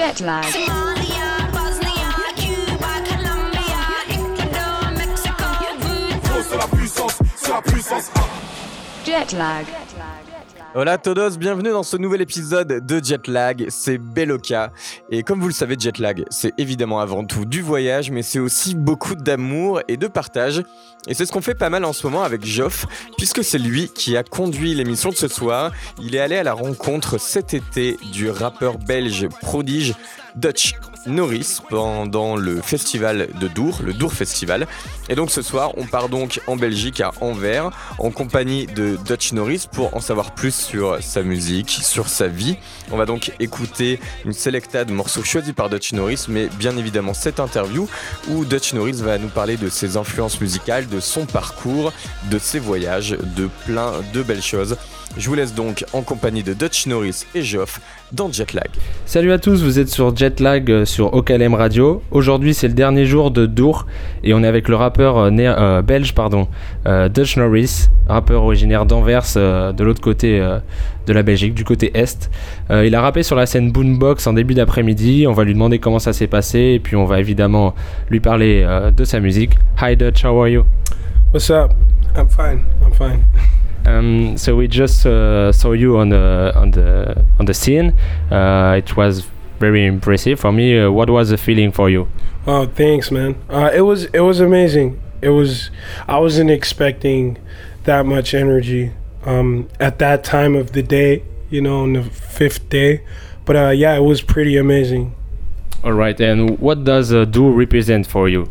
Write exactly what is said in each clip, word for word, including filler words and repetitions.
Jet lag. Somalia, Bosnia, Cuba, Colombia, Ecuador, Mexico. C'est la puissance, c'est la puissance. Jet lag. Hola todos, bienvenue dans ce nouvel épisode de Jetlag, c'est Beloka. Et comme vous le savez, Jetlag, c'est évidemment avant tout du voyage, mais c'est aussi beaucoup d'amour et de partage. Et c'est ce qu'on fait pas mal en ce moment avec Joff, puisque c'est lui qui a conduit l'émission de ce soir. Il est allé à la rencontre cet été du rappeur belge prodige Dutch Norris pendant le festival de Dour, le Dour Festival. Et donc ce soir, on part donc en Belgique, à Anvers, en compagnie de Dutch Norris pour en savoir plus sur sa musique, sur sa vie. On va donc écouter une sélecta de morceaux choisis par Dutch Norris, mais bien évidemment cette interview où Dutch Norris va nous parler de ses influences musicales, de son parcours, de ses voyages, de plein de belles choses. Je vous laisse donc en compagnie de Dutch Norris et Joff dans Jetlag. Salut à tous, vous êtes sur Jetlag euh, sur O K L M Radio. Aujourd'hui c'est le dernier jour de Dour et on est avec le rappeur euh, né- euh, belge pardon, euh, Dutch Norris, rappeur originaire d'Anvers, euh, de l'autre côté euh, de la Belgique, du côté est. Euh, il a rappé sur la scène Boombox en début d'après-midi, on va lui demander comment ça s'est passé et puis on va évidemment lui parler euh, de sa musique. Hi Dutch, how are you? What's up? I'm fine, I'm fine. Um, so we just uh, saw you on the on the on the scene. Uh, it was very impressive for me. Uh, what was the feeling for you? Oh, thanks, man. Uh, it was it was amazing. It was I wasn't expecting that much energy um, at that time of the day. You know, on the fifth day. But uh, yeah, it was pretty amazing. All right. And what does uh, Dour represent for you?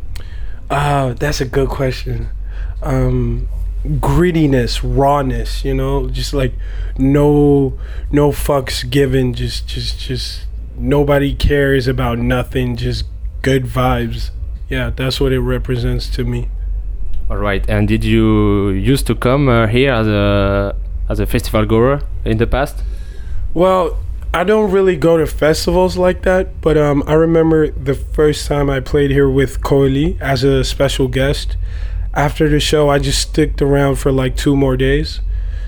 Uh, that's a good question. Um, grittiness, rawness, you know, just like no no fucks given, just just just nobody cares about nothing, just good vibes. Yeah, that's what it represents to me. All right. And did you used to come uh, here as a as a festival goer in the past? Well, I don't really go to festivals like that, but um I remember the first time I played here with Koili as a special guest. After the show, I just sticked around for like two more days.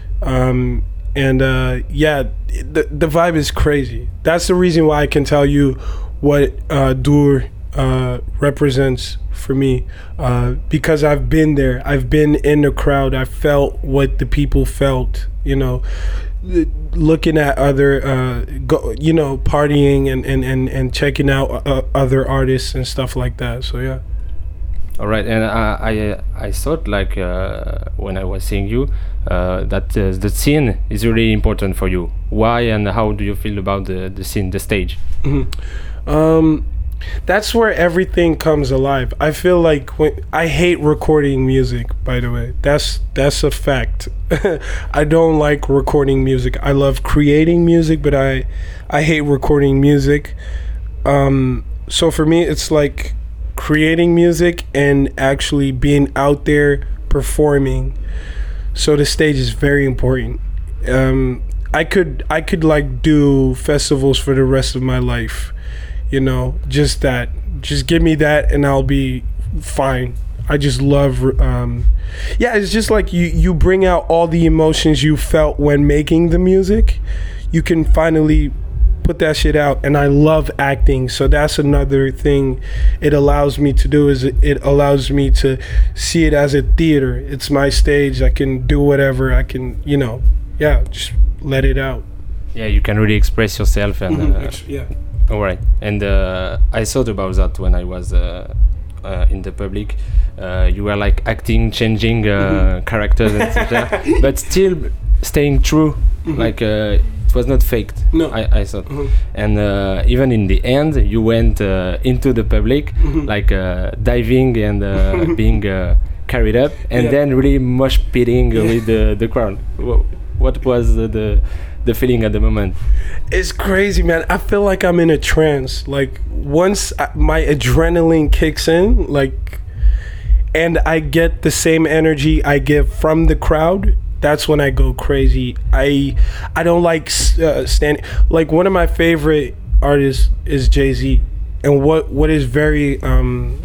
Um, and uh, yeah, the, the vibe is crazy. That's the reason why I can tell you what uh, Dour uh, represents for me. Uh, because I've been there. I've been in the crowd. I felt what the people felt, you know, looking at other, uh, go, you know, partying and, and, and, and checking out uh, other artists and stuff like that. So, yeah. All right, and I I, I thought like uh, when I was seeing you uh, that uh, the scene is really important for you. Why and how do you feel about the, the scene, the stage? Mm-hmm. Um, that's where everything comes alive. I feel like when I hate recording music. By the way, that's that's a fact. I don't like recording music. I love creating music, but I I hate recording music. Um, so for me, it's like creating music and actually being out there performing. So the stage is very important. Um, I could I could like do festivals for the rest of my life, you know, just that. Just give me that and I'll be fine. I just love, um, yeah, it's just like you, you bring out all the emotions you felt when making the music. You can finally put that shit out, and I love acting, so that's another thing it allows me to do, is it, it allows me to see it as a theater. It's my stage. I can do whatever I can, you know, yeah, just let it out. Yeah, you can really express yourself and mm-hmm. uh, yeah. All right, and uh, I thought about that when I was uh, uh, in the public. Uh, you were like acting, changing uh, mm-hmm. characters, et cetera, but still staying true, mm-hmm. like. Uh, It was not faked. No, I, I thought, mm-hmm. and uh, even in the end, you went uh, into the public, mm-hmm. like uh, diving and uh, being uh, carried up, and yeah. then really mosh pitting yeah. with the the crowd. What was the, the the feeling at the moment? It's crazy, man. I feel like I'm in a trance. Like once I, my adrenaline kicks in, like, and I get the same energy I get from the crowd. That's when I go crazy. I I don't like uh, standing. Like one of my favorite artists is Jay-Z, and what what is very um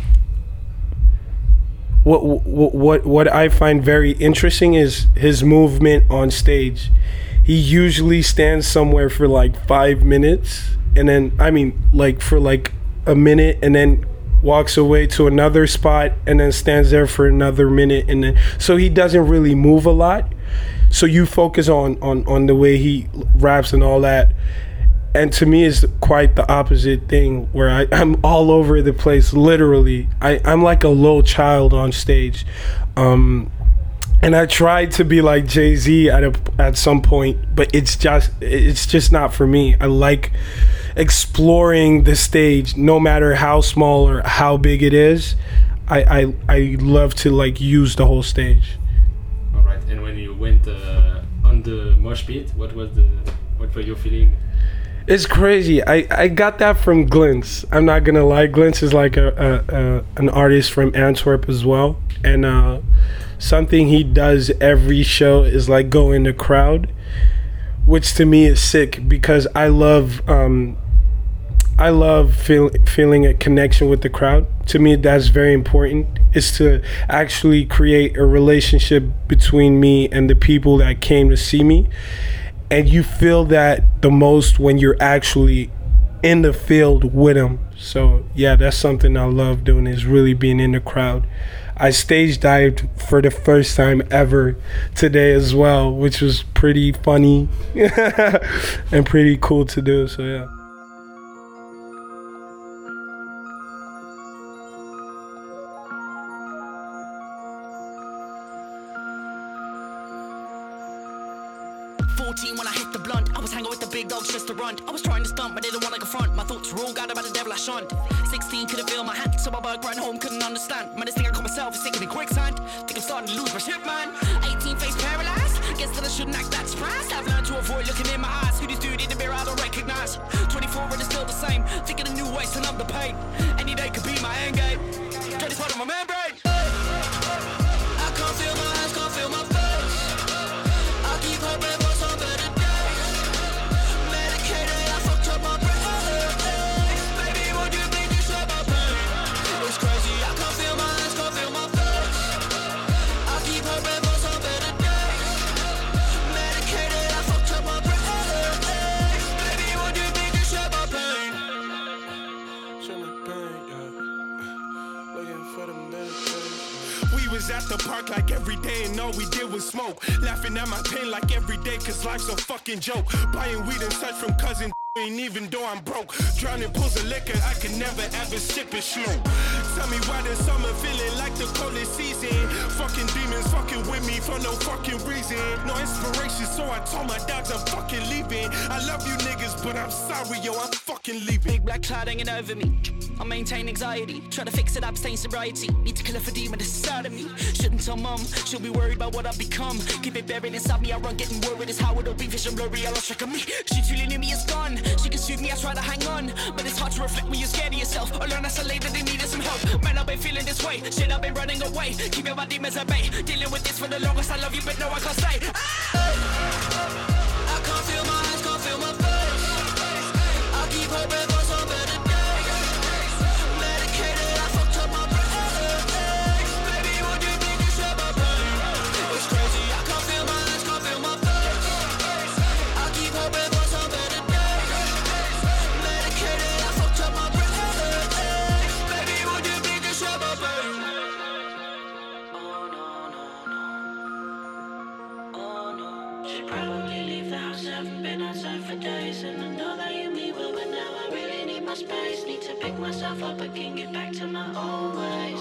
what what what what I find very interesting is his movement on stage. He usually stands somewhere for like five minutes and then I mean like for like a minute, and then walks away to another spot, and then stands there for another minute, and then so he doesn't really move a lot. So you focus on on on the way he raps and all that. And to me, it's quite the opposite thing, where I, I'm all over the place, literally. I, I'm like a little child on stage. Um, and I tried to be like Jay-Z at a, at some point, but it's just it's just not for me. I like exploring the stage, no matter how small or how big it is. I, I, I love to like use the whole stage. All right. And when you went uh, on the mosh pit, what was the what were your feeling? It's crazy. I, I got that from Glints. I'm not gonna lie. Glints is like a, a, a an artist from Antwerp as well, and uh, something he does every show is like go in the crowd, which to me is sick because I love um, I love feel, feeling a connection with the crowd. To me, that's very important. Is to actually create a relationship between me and the people that came to see me. And you feel that the most when you're actually in the field with them. So yeah, that's something I love doing, is really being in the crowd. I stage dived for the first time ever today as well, which was pretty funny and pretty cool to do. So yeah. fourteen when I hit the blunt, I was hanging with the big dogs just to run. I was trying to stunt, but they didn't want to confront. My thoughts were all guided by the devil I shunned. sixteen couldn't feel my hand, so my bug ran home, couldn't understand. Man, this thing I call myself is sinking in quicksand. Think I'm starting to lose my shit, man. eighteen face paralyzed, guess that I shouldn't act that surprised. I've learned to avoid looking in my eyes. Who this dude in the mirror I don't recognize. twenty-four and it's still the same, thinking of new ways to numb the pain. Any day could be my end game. Try this part of my membrane. I can't feel my hands, can't feel my face. I keep hoping for some better days. Medicated, I fucked up my brain. Baby, would you please just share my pain? It's crazy, I can't feel my hands, can't feel my face. I keep hoping for some better days. Medicated, I fucked up my brain. Baby, would you please just share my pain? Share my pain, yeah. Looking for the medication. We was at the park like every day and all we did was smoke. Laughing at my pain like every day cause life's a fucking joke. Buying weed and such from cousin and even though I'm broke. Drowning pools of liquor, I can never ever sip it slow. Tell me why this summer feeling like the coldest season. Fucking demons fucking with me for no fucking reason. No inspiration, so I told my dogs I'm fucking leaving. I love you niggas, but I'm sorry, yo, I'm fucking leaving. Big black cloud hanging over me. I maintain anxiety, try to fix it, abstain sobriety. Need to kill it for demon inside of me. Shouldn't tell mum, she'll be worried about what I've become. Keep it buried inside me, I run getting worried. It's how it'll be, vision blurry, I lost track of me. She truly knew me, it's gone. She can soothe me, I try to hang on. But it's hard to reflect when you're scared of yourself. I learn as a late that they needed some help. Man, I've been feeling this way, shit, I've been running away. Keeping my demons at bay, dealing with this for the longest. I love you, but no, I can't stay. I can't feel my hands, can't feel my face. I keep hoping for some better days. Medicated, I fucked up my brain. Baby, would you please just share my pain? It's crazy, I can't feel my hands, can't feel my face. I keep hoping for some better days. Medicated, I fucked up my brain. Baby, would you please just share my pain? Oh no, no, no. Oh no. Should probably leave the house, haven't been outside for days. And I know that you mean well, but now I really need my space. Need to pick myself up again, get back to my old ways.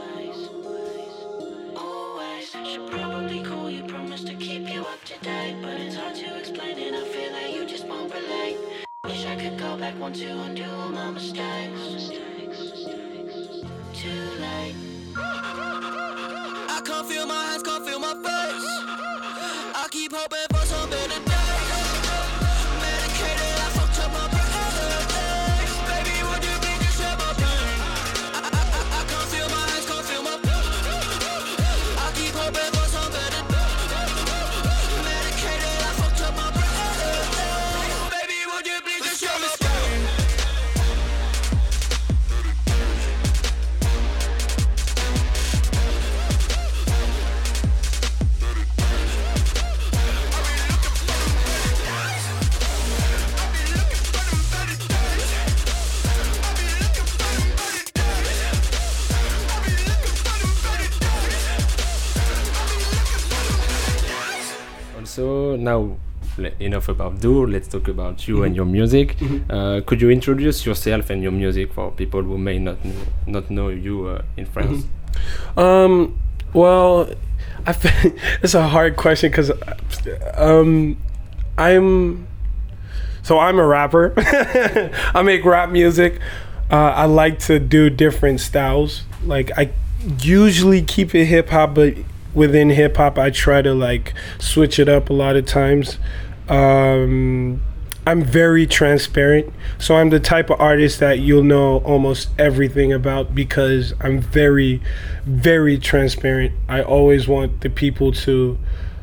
Always. Should probably call you, promise to keep you up to date. But it's hard to explain it, I feel like you just won't relate. Wish I could go back one to undo all my mistakes. Too late. I can't feel my hands, can't feel my face. I keep hoping for some better days. Medicated, I fucked up my brain. Baby, would you please just share my pain? I, I, I, I can't feel my hands, can't feel my face. I keep hoping for some better days. Medicated, I fucked up my brain. Baby, would you please just share my pain? radio. Now, le- enough about Dur. Let's talk about you and your music. Uh, could you introduce yourself and your music for people who may not know, not know you uh, in France? Um, well, I feel it's a hard question because um, I'm so I'm a rapper. I make rap music. Uh, I like to do different styles. Like I usually keep it hip hop, but within hip hop, I try to like switch it up a lot of times. Um, I'm very transparent, so I'm the type of artist that you'll know almost everything about because I'm very, very transparent. I always want the people to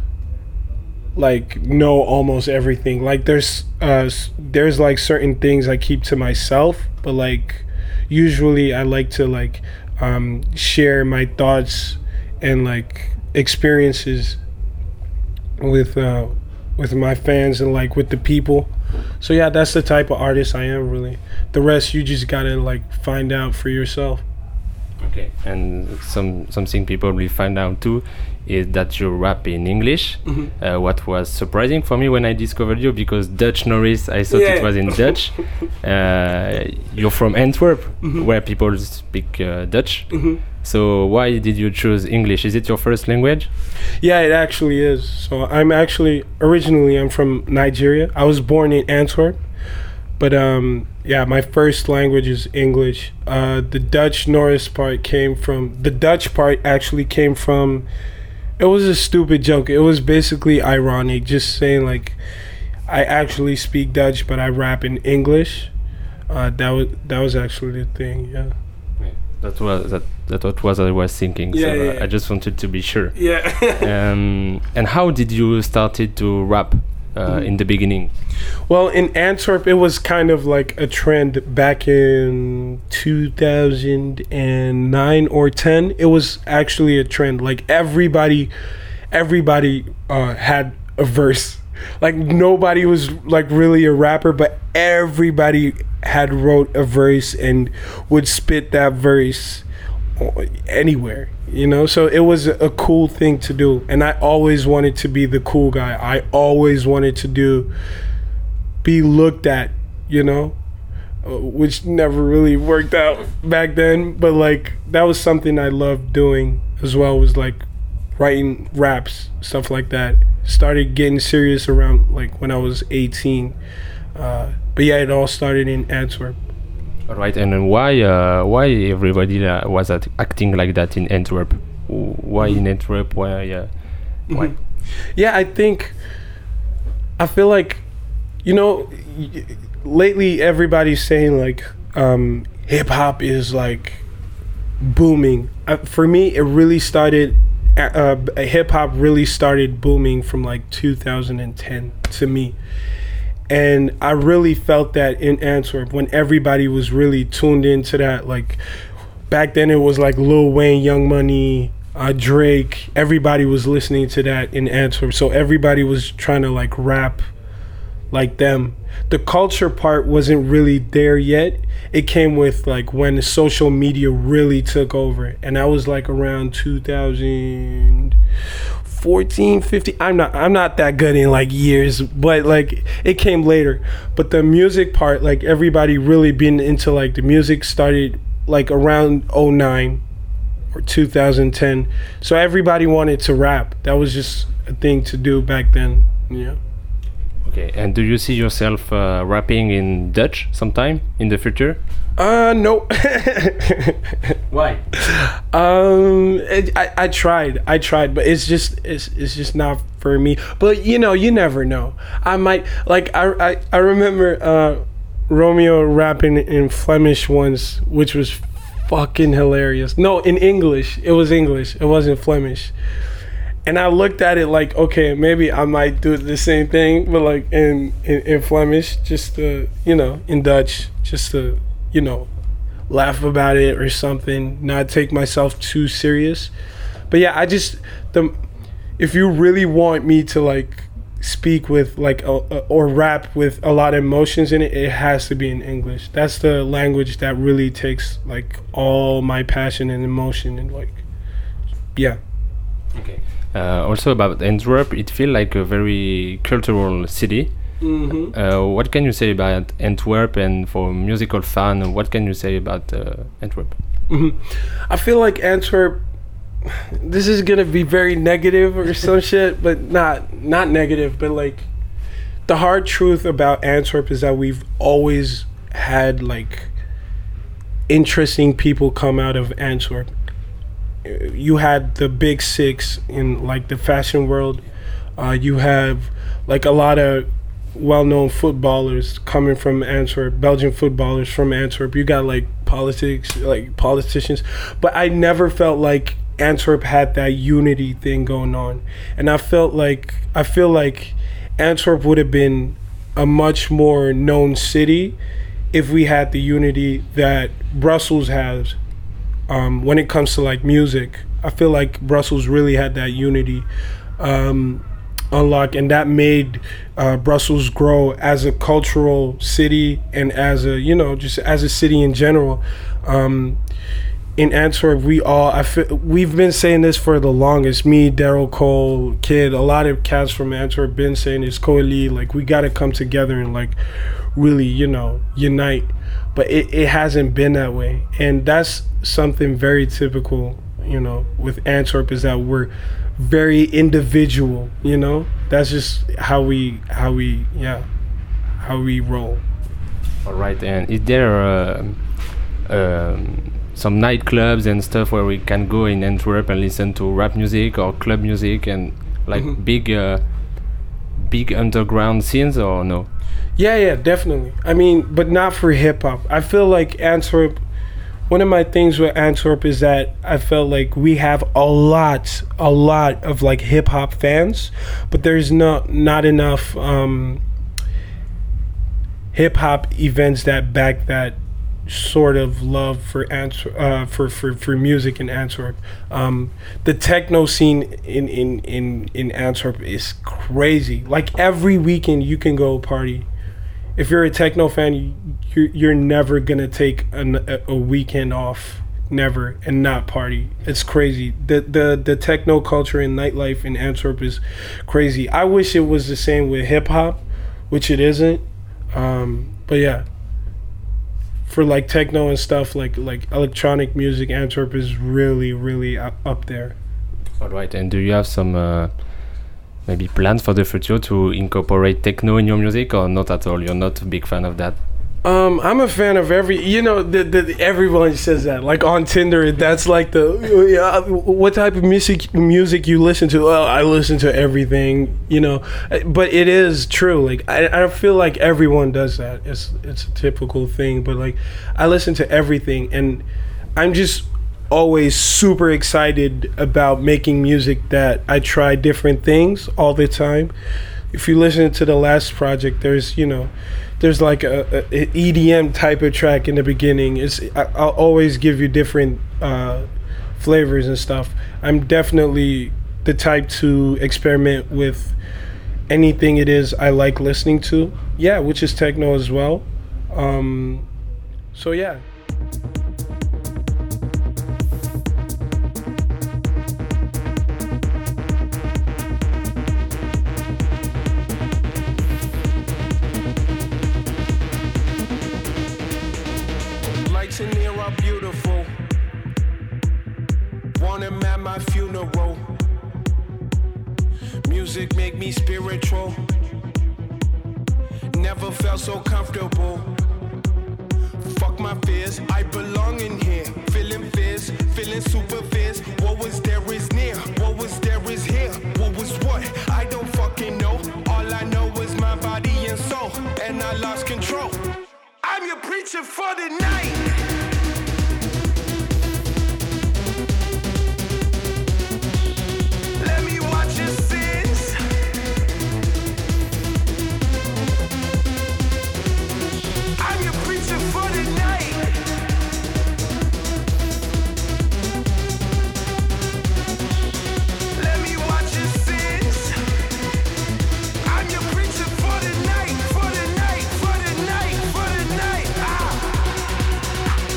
like know almost everything. Like there's uh s- there's like certain things I keep to myself, but like usually I like to like um share my thoughts and like experiences with uh with my fans and like with the people. So yeah, that's the type of artist I am really. The rest you just gotta like find out for yourself. Okay. And some something people will find out too is that you rap in English. Uh, what was surprising for me when I discovered you, because Dutch Norris, I thought Yeah. it was in Dutch. Uh, you're from Antwerp, where people speak uh, Dutch. So why did you choose English? Is it your first language? Yeah, it actually is. So I'm actually originally I'm from Nigeria. I was born in Antwerp, but um, yeah, my first language is English. Uh, the Dutch Norris part came from the Dutch part actually came from. It was a stupid joke. It was basically ironic, just saying like, I actually speak Dutch, but I rap in English. Uh, that was that was actually the thing. Yeah. That was that. That what was I was thinking. Yeah, so yeah, uh, yeah. I just wanted to be sure. Yeah. um, and how did you started to rap uh, in the beginning? Well, in Antwerp, it was kind of like a trend back in two thousand nine or ten. It was actually a trend. Like everybody, everybody uh, had a verse. Like nobody was like really a rapper, but everybody had wrote a verse and would spit that verse anywhere, you know. So it was a, a cool thing to do, and I always wanted to be the cool guy. I always wanted to do be looked at, you know, uh, which never really worked out back then, but like that was something I loved doing as well, was like writing raps, stuff like that. Started getting serious around like when I was eighteen, uh, but yeah, it all started in Antwerp. All right, and then why uh, why everybody uh, was at acting like that in Antwerp? W- Why in Antwerp? Why? Uh, why? Yeah, I think I feel like, you know, y- lately everybody's saying like um, hip hop is like booming. Uh, for me, it really started. Uh, uh, hip hop really started booming from like two thousand ten to me. And I really felt that in Antwerp when everybody was really tuned into that. Like back then it was like Lil Wayne, Young Money, uh, Drake. Everybody was listening to that in Antwerp. So everybody was trying to like rap like them. The culture part wasn't really there yet. It came with like when the social media really took over. And that was like around two thousand fourteen, fifteen. I'm not I'm not that good in like years, but like it came later. But the music part, like everybody really been into like the music started like around oh nine or two thousand ten. So everybody wanted to rap. That was just a thing to do back then. Yeah. Okay, and do you see yourself uh, rapping in Dutch sometime in the future? Uh no. Why? Um, it, I I tried, I tried, but it's just it's it's just not for me. But you know, you never know. I might like I I, I remember uh, Romeo rapping in Flemish once, which was fucking hilarious. No, in English. It was English. It wasn't Flemish. And I looked at it like, okay, maybe I might do the same thing, but like in in, in Flemish, just to, you know, in Dutch, just to, you know, laugh about it or something, not take myself too serious. But yeah, I just the if you really want me to like speak with like a, a, or rap with a lot of emotions in it, it has to be in English. That's the language that really takes like all my passion and emotion and like, yeah. Okay. Uh, also about Antwerp, it feels like a very cultural city. Mm-hmm. Uh, what can you say about Antwerp, and for musical fan, what can you say about uh, Antwerp? Mm-hmm. I feel like Antwerp, this is gonna be very negative or some shit, but not not negative, but like the hard truth about Antwerp is that we've always had like interesting people come out of Antwerp. You had the big six in like the fashion world. Uh, you have like a lot of well-known footballers coming from Antwerp, Belgian footballers from Antwerp. You got like politics, like politicians, but I never felt like Antwerp had that unity thing going on. And I felt like I feel like Antwerp would have been a much more known city if we had the unity that Brussels has um, when it comes to like music. I feel like Brussels really had that unity um, unlocked, and that made uh, Brussels grow as a cultural city and as a, you know, just as a city in general. Um, in Antwerp, we all, I feel, we've been saying this for the longest. Me, Daryl Cole, Kid, a lot of cats from Antwerp been saying this. Coeli, like we got to come together and like really, you know, unite. But it, it hasn't been that way, and that's something very typical, you know, with Antwerp, is that we're very individual, you know. That's just how we how we yeah how we roll. All right. And is there uh, um, some nightclubs and stuff where we can go in Antwerp and listen to rap music or club music and like mm-hmm. big uh, big underground scenes, or no? Yeah, yeah, definitely. I mean, but not for hip hop. I feel like Antwerp, one of my things with Antwerp is that I felt like we have a lot, a lot of like hip hop fans, but there's not not enough um, hip hop events that back that sort of love for Antwerp, uh, for, for for music in Antwerp. Um, the techno scene in, in in in Antwerp is crazy. Like every weekend you can go party. If you're a techno fan, you, you're, you're never gonna take an, a, a weekend off, never, and not party. It's crazy. The the the techno culture and nightlife in Antwerp is crazy. I wish it was the same with hip hop, which it isn't. Um, but yeah, for like techno and stuff, like like electronic music, Antwerp is really really up, up there. All right. And do you have some uh, maybe plans for the future to incorporate techno in your music, or not at all? You're not a big fan of that? Um, I'm a fan of every, you know, the, the, everyone says that, like on Tinder, that's like the, yeah, what type of music music you listen to? Oh, I listen to everything, you know, but it is true. Like, I, I feel like everyone does that. It's, it's a typical thing, but like, I listen to everything, and I'm just always super excited about making music that I try different things all the time. If you listen to the last project, there's, you know, there's like a, a, a E D M type of track in the beginning. It's I, I'll always give you different uh, flavors and stuff. I'm definitely the type to experiment with anything it is I like listening to. Yeah, which is techno as well. Um, so yeah. In here are beautiful. Want him at my funeral. Music make me spiritual. Never felt so comfortable. Fuck my fears, I belong in here. Feeling fierce, feeling super fierce. What was there is near, what was there is here. What was what? I don't fucking know. All I know is my body and soul, and I lost control. I'm your preacher for the night. Let me watch your sins. I'm your preacher for the night. Let me watch your sins. I'm your preacher for the night, for the night, for the night, for the night. Ah.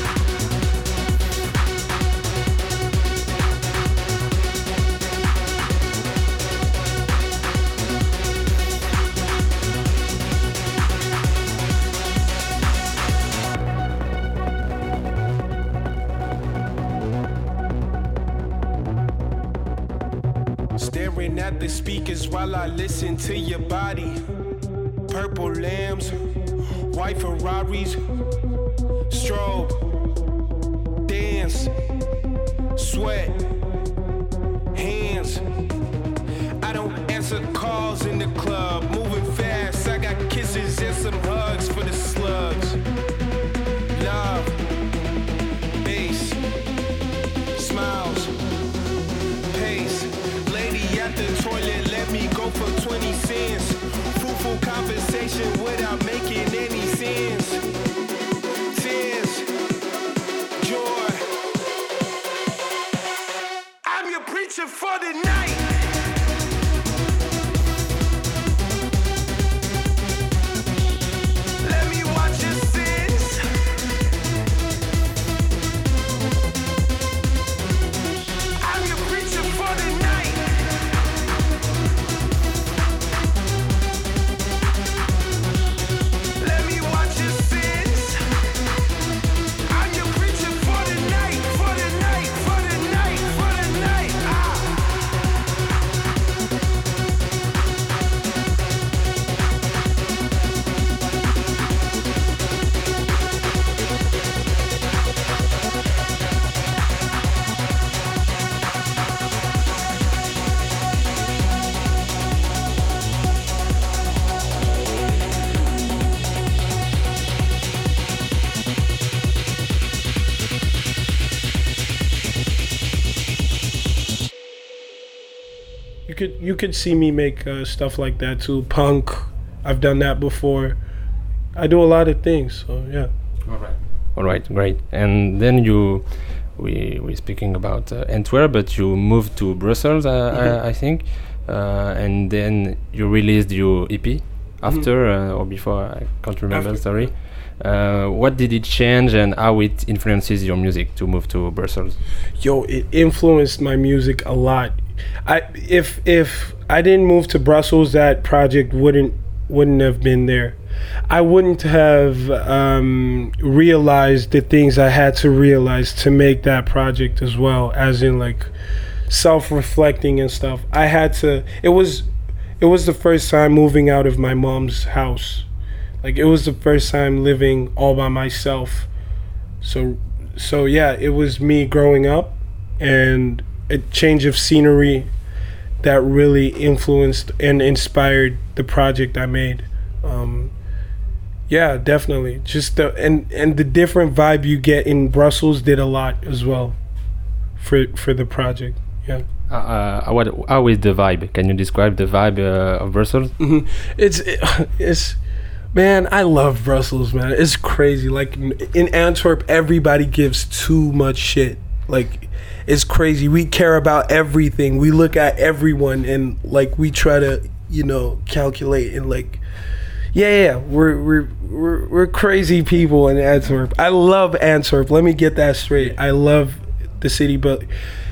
Staring at the speakers while I listen to your body. Purple lambs, white Ferraris, strobe, dance, sweat, hands. I don't answer calls in the club, moving fast. I got kisses and some hugs for the slugs. Love, bass, smiles, pace. Lady at the toilet, let me go for twenty cents. Fruitful conversation without making any sense. Tears, joy. I'm your preacher for the night. Let me watch your sins. I'm your preacher for the night. Let me watch your sins. I'm your preacher for the night, for the night, for the night, for the night. Ah. You could you could see me make uh, stuff like that too. Punk, I've done that before. I do a lot of things, so yeah. All right. All right, great. And then you, we we speaking about uh, Antwerp, but you moved to Brussels, uh, Mhm. I, I think, uh, and then you released your E P after uh, or before. I can't remember. After. Sorry. Uh, what did it change, and how it influences your music to move to Brussels? Yo, it influenced my music a lot. I if if I didn't move to Brussels, that project wouldn't wouldn't have been there. I wouldn't have um, realized the things I had to realize to make that project as well, as in like self-reflecting and stuff. I had to. It was it was the first time moving out of my mom's house. Like it was the first time living all by myself. So so yeah, it was me growing up and a change of scenery that really influenced and inspired the project I made. Um, yeah, definitely. Just the and and the different vibe you get in Brussels did a lot as well for for the project. Yeah. Uh, uh, what, how is the vibe? Can you describe the vibe uh, of Brussels? Mm-hmm. It's it, it's man, I love Brussels, man. It's crazy. Like in Antwerp, everybody gives too much shit. Like it's crazy. We care about everything. We look at everyone and like we try to, you know, calculate and like, yeah, yeah. We're we're we're we're crazy people in Antwerp. I love Antwerp. Let me get that straight. I love the city, but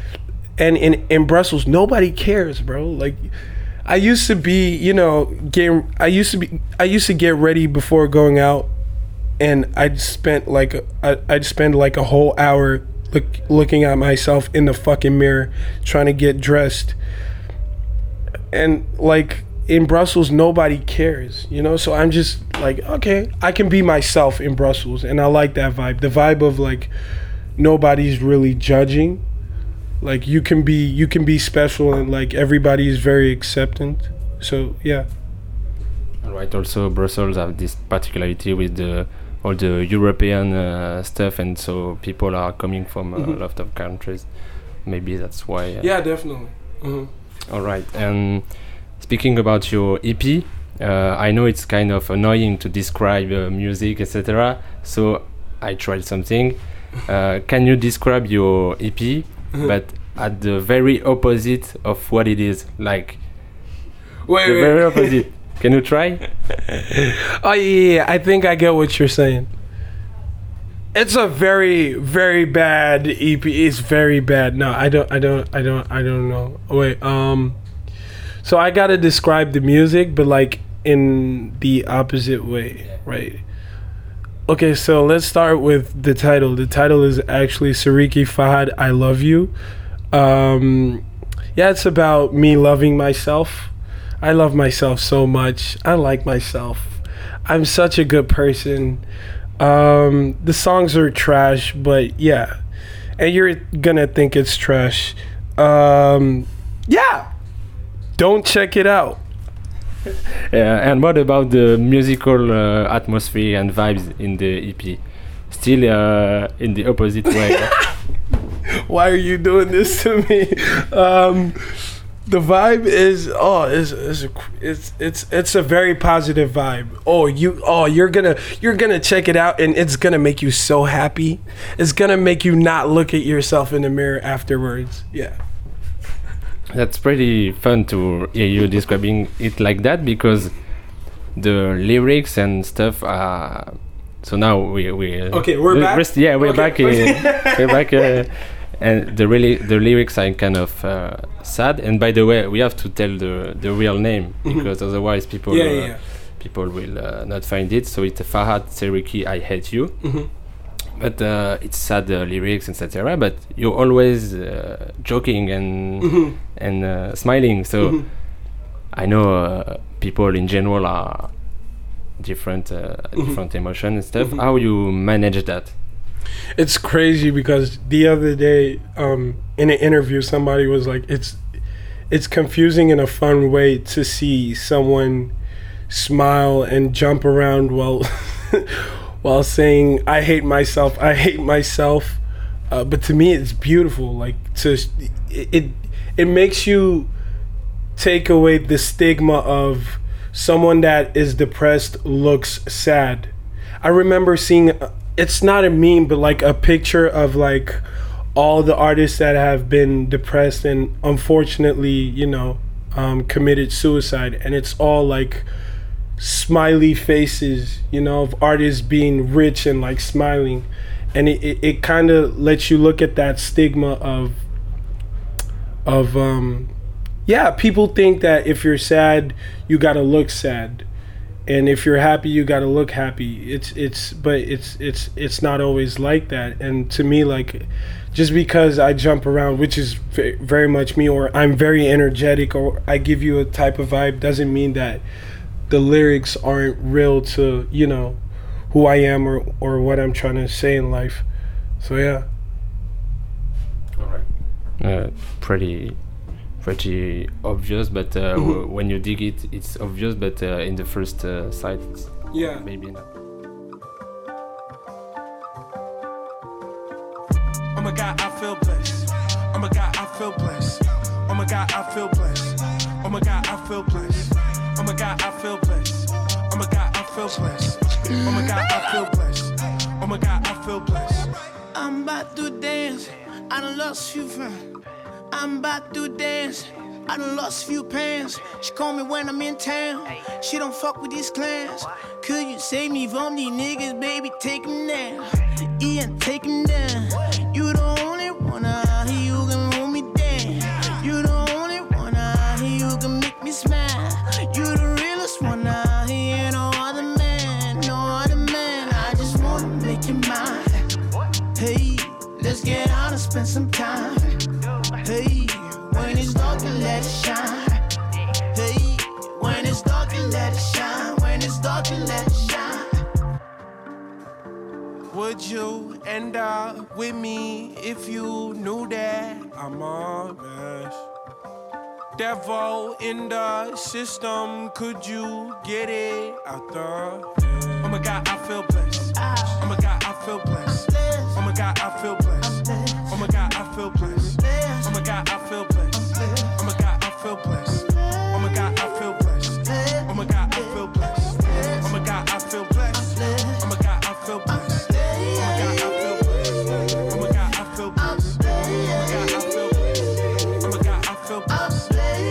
and in in Brussels, nobody cares, bro. Like. I used to be, you know, getting. I used to be. I used to get ready before going out, and I'd spent like a, I'd spend like a whole hour look, looking at myself in the fucking mirror, trying to get dressed. And like in Brussels, nobody cares, you know. So I'm just like, okay, I can be myself in Brussels, and I like that vibe. The vibe of like nobody's really judging. Like you can be you can be special and like everybody is very acceptant. So yeah. Right. Also, Brussels have this particularity with the all the European uh, stuff, and so people are coming from Mhm. a lot of countries. Maybe that's why. Uh, Yeah, definitely. Mhm. All right. And speaking about your E P, uh, I know it's kind of annoying to describe uh, music, et cetera. So I tried something. Uh, can you describe your E P? But at the very opposite of what it is, like Wait, the wait. very opposite. Can you try? Oh yeah, yeah, I think I get what you're saying. It's a very, very bad E P. It's very bad. No, I don't, I don't, I don't, I don't know. Wait, um, so I gotta describe the music, but like in the opposite way, right? Okay, so let's start with the title. The title is actually Sariki Fahad, I Love You. Um, yeah, it's about me loving myself. I love myself so much. I like myself. I'm such a good person. Um, the songs are trash, but yeah. And you're gonna think it's trash. Um, yeah. Don't check it out. Yeah, and what about the musical uh, atmosphere and vibes in the E P? Still uh, in the opposite way. Why are you doing this to me? Um, the vibe is oh, is is it's it's it's a very positive vibe. Oh, you oh you're gonna you're gonna check it out and it's gonna make you so happy. It's gonna make you not look at yourself in the mirror afterwards. Yeah. That's pretty fun to hear you describing it like that, because the lyrics and stuff are. So now we we. Okay, we're we, back. Rest, yeah, we're okay. back. Uh, we're back, uh, and the really the lyrics are kind of uh, sad. And by the way, we have to tell the the real name because mm-hmm. otherwise people yeah, uh, yeah, yeah. people will uh, not find it. So it's Fahad Seriki, I Hate You. Mm-hmm. But uh, it's sad uh, lyrics, et cetera. But you're always uh, joking and mm-hmm. and uh, smiling. So mm-hmm. I know uh, people in general are different, uh, mm-hmm. different emotion and stuff. Mm-hmm. How you manage that? It's crazy because the other day, um, in an interview, somebody was like, "It's it's confusing in a fun way to see someone smile and jump around while." while saying I hate myself, I hate myself, uh, but to me it's beautiful. Like to it, it, it makes you take away the stigma of someone that is depressed looks sad. I remember seeing, it's not a meme, but like a picture of like all the artists that have been depressed and unfortunately, you know, um, committed suicide, and it's all like smiley faces, you know, of artists being rich and like smiling, and it, it, it kind of lets you look at that stigma of of um yeah, people think that if you're sad you gotta look sad, and if you're happy you gotta look happy. It's it's but it's it's it's not always like that. And to me, like, just because I jump around, which is v- very much me, or I'm very energetic, or I give you a type of vibe, doesn't mean that the lyrics aren't real to, you know, who I am or, or what I'm trying to say in life. So yeah. All right. Uh, pretty, pretty obvious, but uh, mm-hmm. w- when you dig it, it's obvious. But uh, in the first uh, sight, it's yeah, maybe not. Oh my God, I feel blessed. Oh my God, I feel blessed. Oh my God, I feel blessed. Oh my God, I feel blessed. Oh my God, I feel blessed. Oh my God, I feel blessed. Oh my God, I feel blessed. Oh my God, I feel blessed. I'm about to dance. I done lost few friends. I'm about to dance. I done lost few pants. She call me when I'm in town. She don't fuck with these clans. Could you save me from these niggas, baby? Take 'em down. Ian, take 'em down. You the only one out here who can hold me down. You the only one out here who can make me smile. You the realest one out here, no other man, no other man. I just wanna make you mine. Hey, let's get out and spend some time. Hey, when it's dark, you let it shine. Hey, when it's dark, you let it shine. When it's dark, you let it shine. Would you end up with me if you knew that I'm a mess? Devil in the system, could you get it out the head? Oh my God, I feel blessed. Oh my God, I feel blessed. Oh my God, I feel blessed. Oh my God, I feel blessed. Oh my God, I feel blessed. Oh my God, I feel blessed. Oh my God, I feel blessed. Oh my God, I feel blessed. Oh my God, I feel blessed. Oh my God, I feel blessed. Oh my God, I feel blessed. Oh my God, I feel blessed. Oh my God, I feel blessed.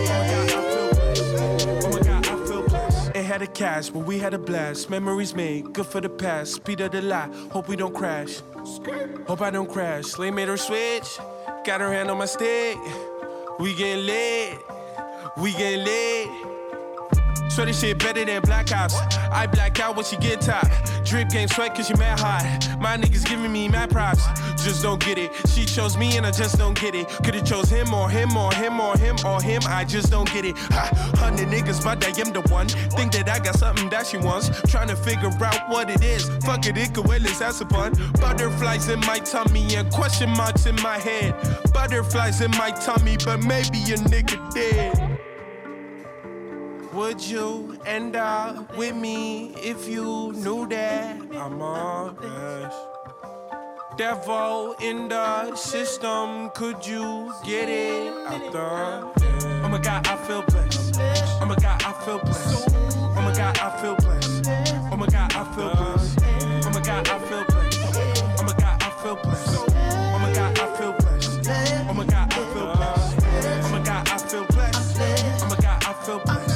Had a cash, but we had a blast. Memories made, good for the past. Speed of the lie, hope we don't crash. Hope I don't crash. Slay made her switch, got her hand on my stick. We getting lit, we getting lit. So this shit better than Black Ops. I black out when she get top. Drip game sweat cause she mad hot. My niggas giving me mad props. Just don't get it. She chose me and I just don't get it. Could've chose him or him or him or him or him. I just don't get it. Ha, hundred niggas, but I am the one. Think that I got something that she wants. Trying to figure out what it is. Fuck it, it could well, let's have some fun. Butterflies in my tummy and question marks in my head. Butterflies in my tummy, but maybe a nigga dead. Would you end up with me if you knew that I'm all best? Devil in the system, could you get it out the? Oh my God, I feel blessed. Oh my God, I feel blessed. Oh my God, I feel blessed. Oh my God, I feel blessed. Oh my God, I feel blessed. Oh my God, I feel blessed. Oh my God, I feel blessed. Oh my God, I feel blessed. Oh my God, I feel blessed. Oh my God, I feel blessed.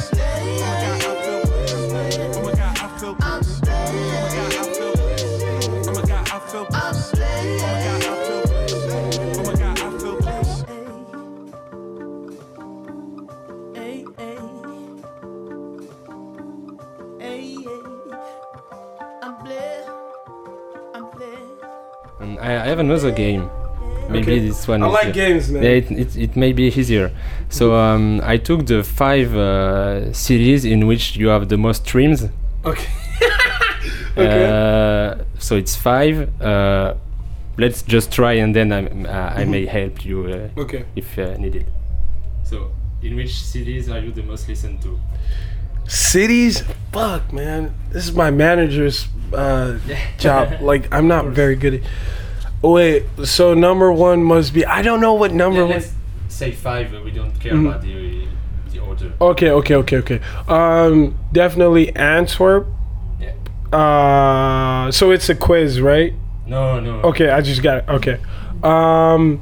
And I I have another game. Maybe Okay. this one I is like uh, games, man. Yeah, it, it, it may be easier. So um, I took the five uh, series in which you have the most streams. Okay. Okay. Uh, so it's five. Uh, let's just try, and then I uh, I may help you uh, Okay. if uh, needed. So, in which series are you the most listened to? Cities? Fuck, man. This is my manager's uh, job. Like, I'm not very good at. Oh, wait, so number one must be. I don't know what number Yeah, one. let's say five. Uh, we don't care Mhm. about the the order. Okay, okay, okay, okay. Um, definitely Antwerp. Yeah. Uh, so it's a quiz, right? No, no. Okay, I just got it. Okay. Um,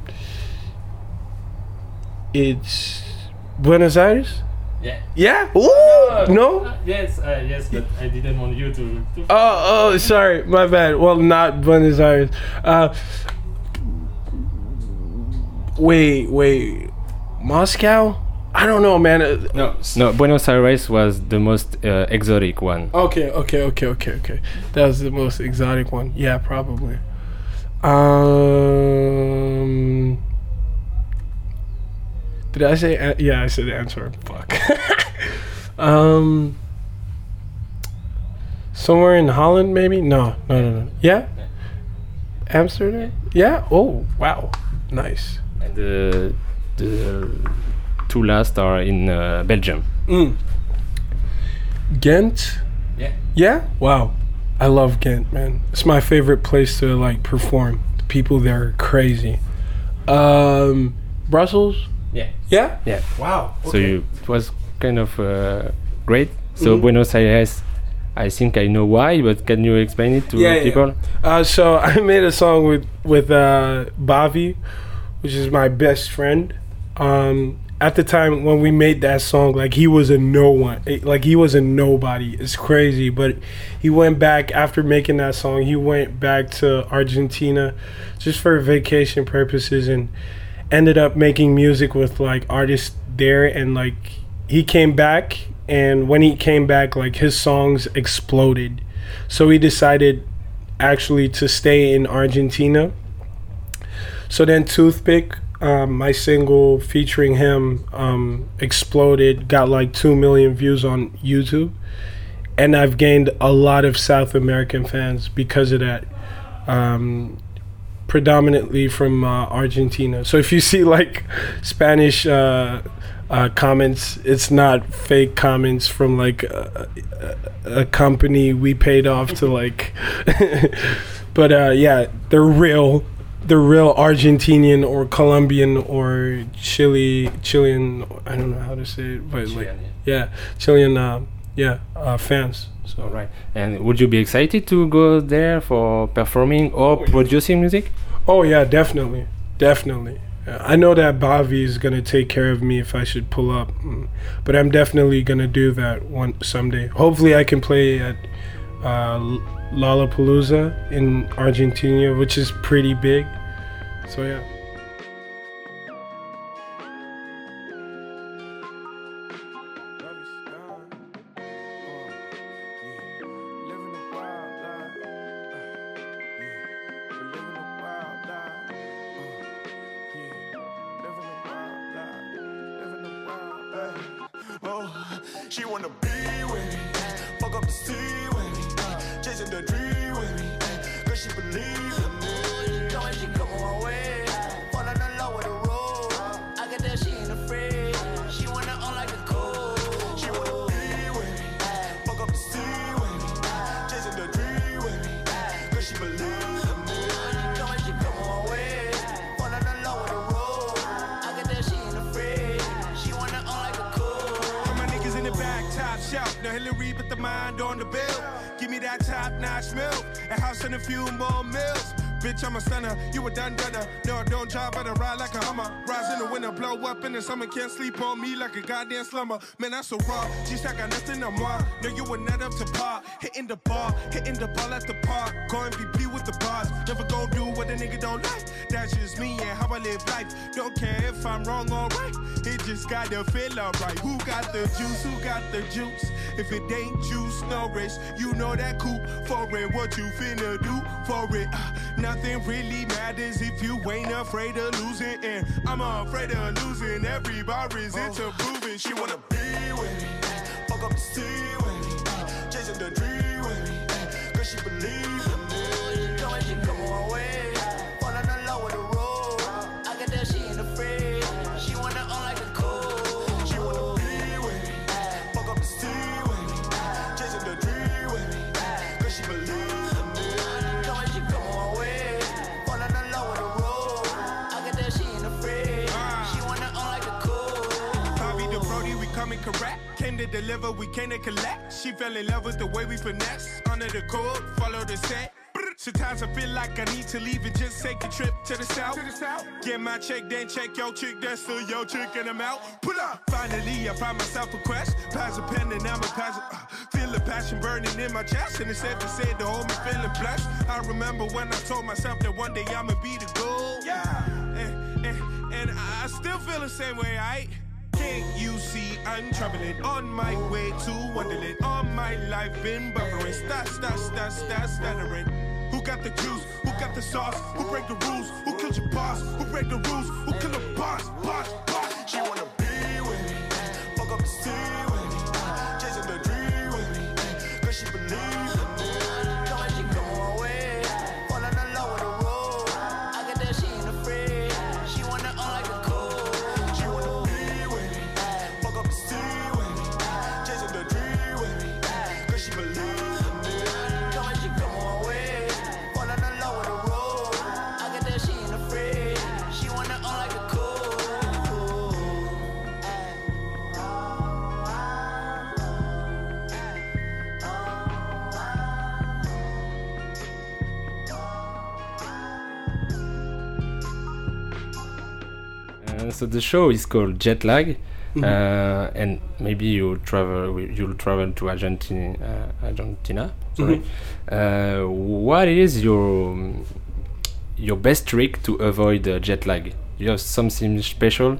it's Buenos Aires. Yeah. Yeah. Ooh. No. Uh, yes, uh, yes, but I didn't want you to. to Oh, oh, sorry, my bad. Well, not Buenos Aires. Uh, wait, wait, Moscow? I don't know, man. Uh, no, no. Buenos Aires was the most uh, exotic one. Okay, okay, okay, okay, okay. That was the most exotic one. Yeah, probably. Um, did I say? An- yeah, I said Antwerp. Fuck. um, somewhere in Holland, maybe? No, no, no, no. Yeah, Amsterdam. Yeah. Oh, wow, nice. And the the two last are in uh, Belgium. Mm. Ghent. Yeah. Yeah. Wow. I love Ghent, man. It's my favorite place to like perform. The people there are crazy. Um, Brussels. Yeah. Yeah. Yeah. Wow. So you, it was kind of uh, great. So Mhm. Buenos Aires, I think I know why, but can you explain it to Yeah, yeah. people? Uh, so I made a song with with uh, Bavi, which is my best friend. Um, at the time when we made that song, like he was a no one, eh, like he was a nobody. It's crazy, but he went back after making that song. He went back to Argentina just for vacation purposes and ended up making music with like artists there. And like he came back, and when he came back, like his songs exploded. So he decided actually to stay in Argentina. So then Toothpick, um, my single featuring him, um, exploded, got like two million views on YouTube. And I've gained a lot of South American fans because of that, um, predominantly from uh, Argentina. So if you see like Spanish uh, uh, comments, it's not fake comments from like a, a, a company we paid off to like, but uh, yeah, they're real. They're real Argentinian or Colombian or Chile, Chilean. I don't know how to say it, but like, Chilean, yeah, Chilean, uh, yeah, uh, fans. So All right. And would you be excited to go there for performing or Oh, yeah. producing music? Oh yeah, definitely, definitely. Uh, I know that Bavi is gonna take care of me if I should pull up, mm, but I'm definitely gonna do that one someday. Hopefully, I can play at uh, L- Lollapalooza in Argentina, which is pretty big. So yeah. She wanna be with me, fuck up the sea with me, chasing the dream with me, cause she believe in me. She know when she come on my way, falling in love with the road. I get that she ain't afraid. She wanna own like a cold. She wanna be with me, fuck up the sea with me, chasing the dream with me, cause she believe in me. She know when she come on my way, falling in love with the road. I get that she ain't afraid. She wanna own like a cold. All my niggas in the back, top shelf. No Hillary, but the mind on the bill. Give me that top-notch milk. A house and a few more mills. Bitch, I'm a stunner, you a done-dunner. No, I don't drive, but I ride like a Hummer. Rise in the winter, blow up in the summer. Can't sleep on me like a goddamn slumber. Man, that's so raw. She's like, got nothing on moi. No, you were not up to par. Hitting the bar, hitting the ball at the park. Go M V P with the bars. Never gon' do what a nigga don't like. That's just me and how I live life. Don't care if I'm wrong or right. It just gotta feel alright. Who got the juice? Who got the juice? If it ain't juice, no risk. You know that coupe for it. What you finna do for it? Uh, nothing really matters if you ain't afraid of losing. And I'm afraid of losing. Every bar is into proving. She wanna be with me, fuck up the sea with me, chasing the dream with me, cause she believe in me. She know when she come on my way, falling in love with the road. I get that she ain't afraid. She wanna own like a cold. She wanna be with me, fuck up the sea with me, chasing the dream with me, cause she believe in me. She know when she come on my way, falling in love with the road. I get that she ain't afraid. She wanna own like a cold. Bobby the Brody, we coming correct. Came to deliver, we came to collect. She fell in love with the way we finesse. Under the code, follow the set. Sometimes I feel like I need to leave and just take a trip to the south. To the south. Get my check, then check your chick. That's still your chick, and I'm out. Pull up. Finally, I find myself a quest. Pass a pen, and I'm a pass. Uh, feel the passion burning in my chest, and it's safe to say to hold me feeling blessed. I remember when I told myself that one day I'ma be the goal. Yeah. And, and, and I still feel the same way, I. Can't you see I'm traveling on my way to Wonderland? All my life been buffering, stat, stat, stat, stat, stuttering. Who got the juice? Who got the sauce? Who break the rules? Who killed your boss? Who break the rules? Who kill the boss? Boss, boss. She wanna be with me, fuck up the sea with me, chasing the dream with me, cause she believe in me. She know when she come on my way, falling in love with the road. I get that she ain't afraid. She wanna own like a cold. She wanna be with me, fuck up the sea with me, chasing the dream with me, cause she believe in me. She know when she come on my way, falling in love with the road. I get that she ain't afraid. She wanna own like a cold. Uh, so the show is called Jet Lag, uh, and maybe you travel. You'll travel to Argentina. Uh, Argentina. Sorry. Uh, what is your your best trick to avoid uh, jet lag? You have something special?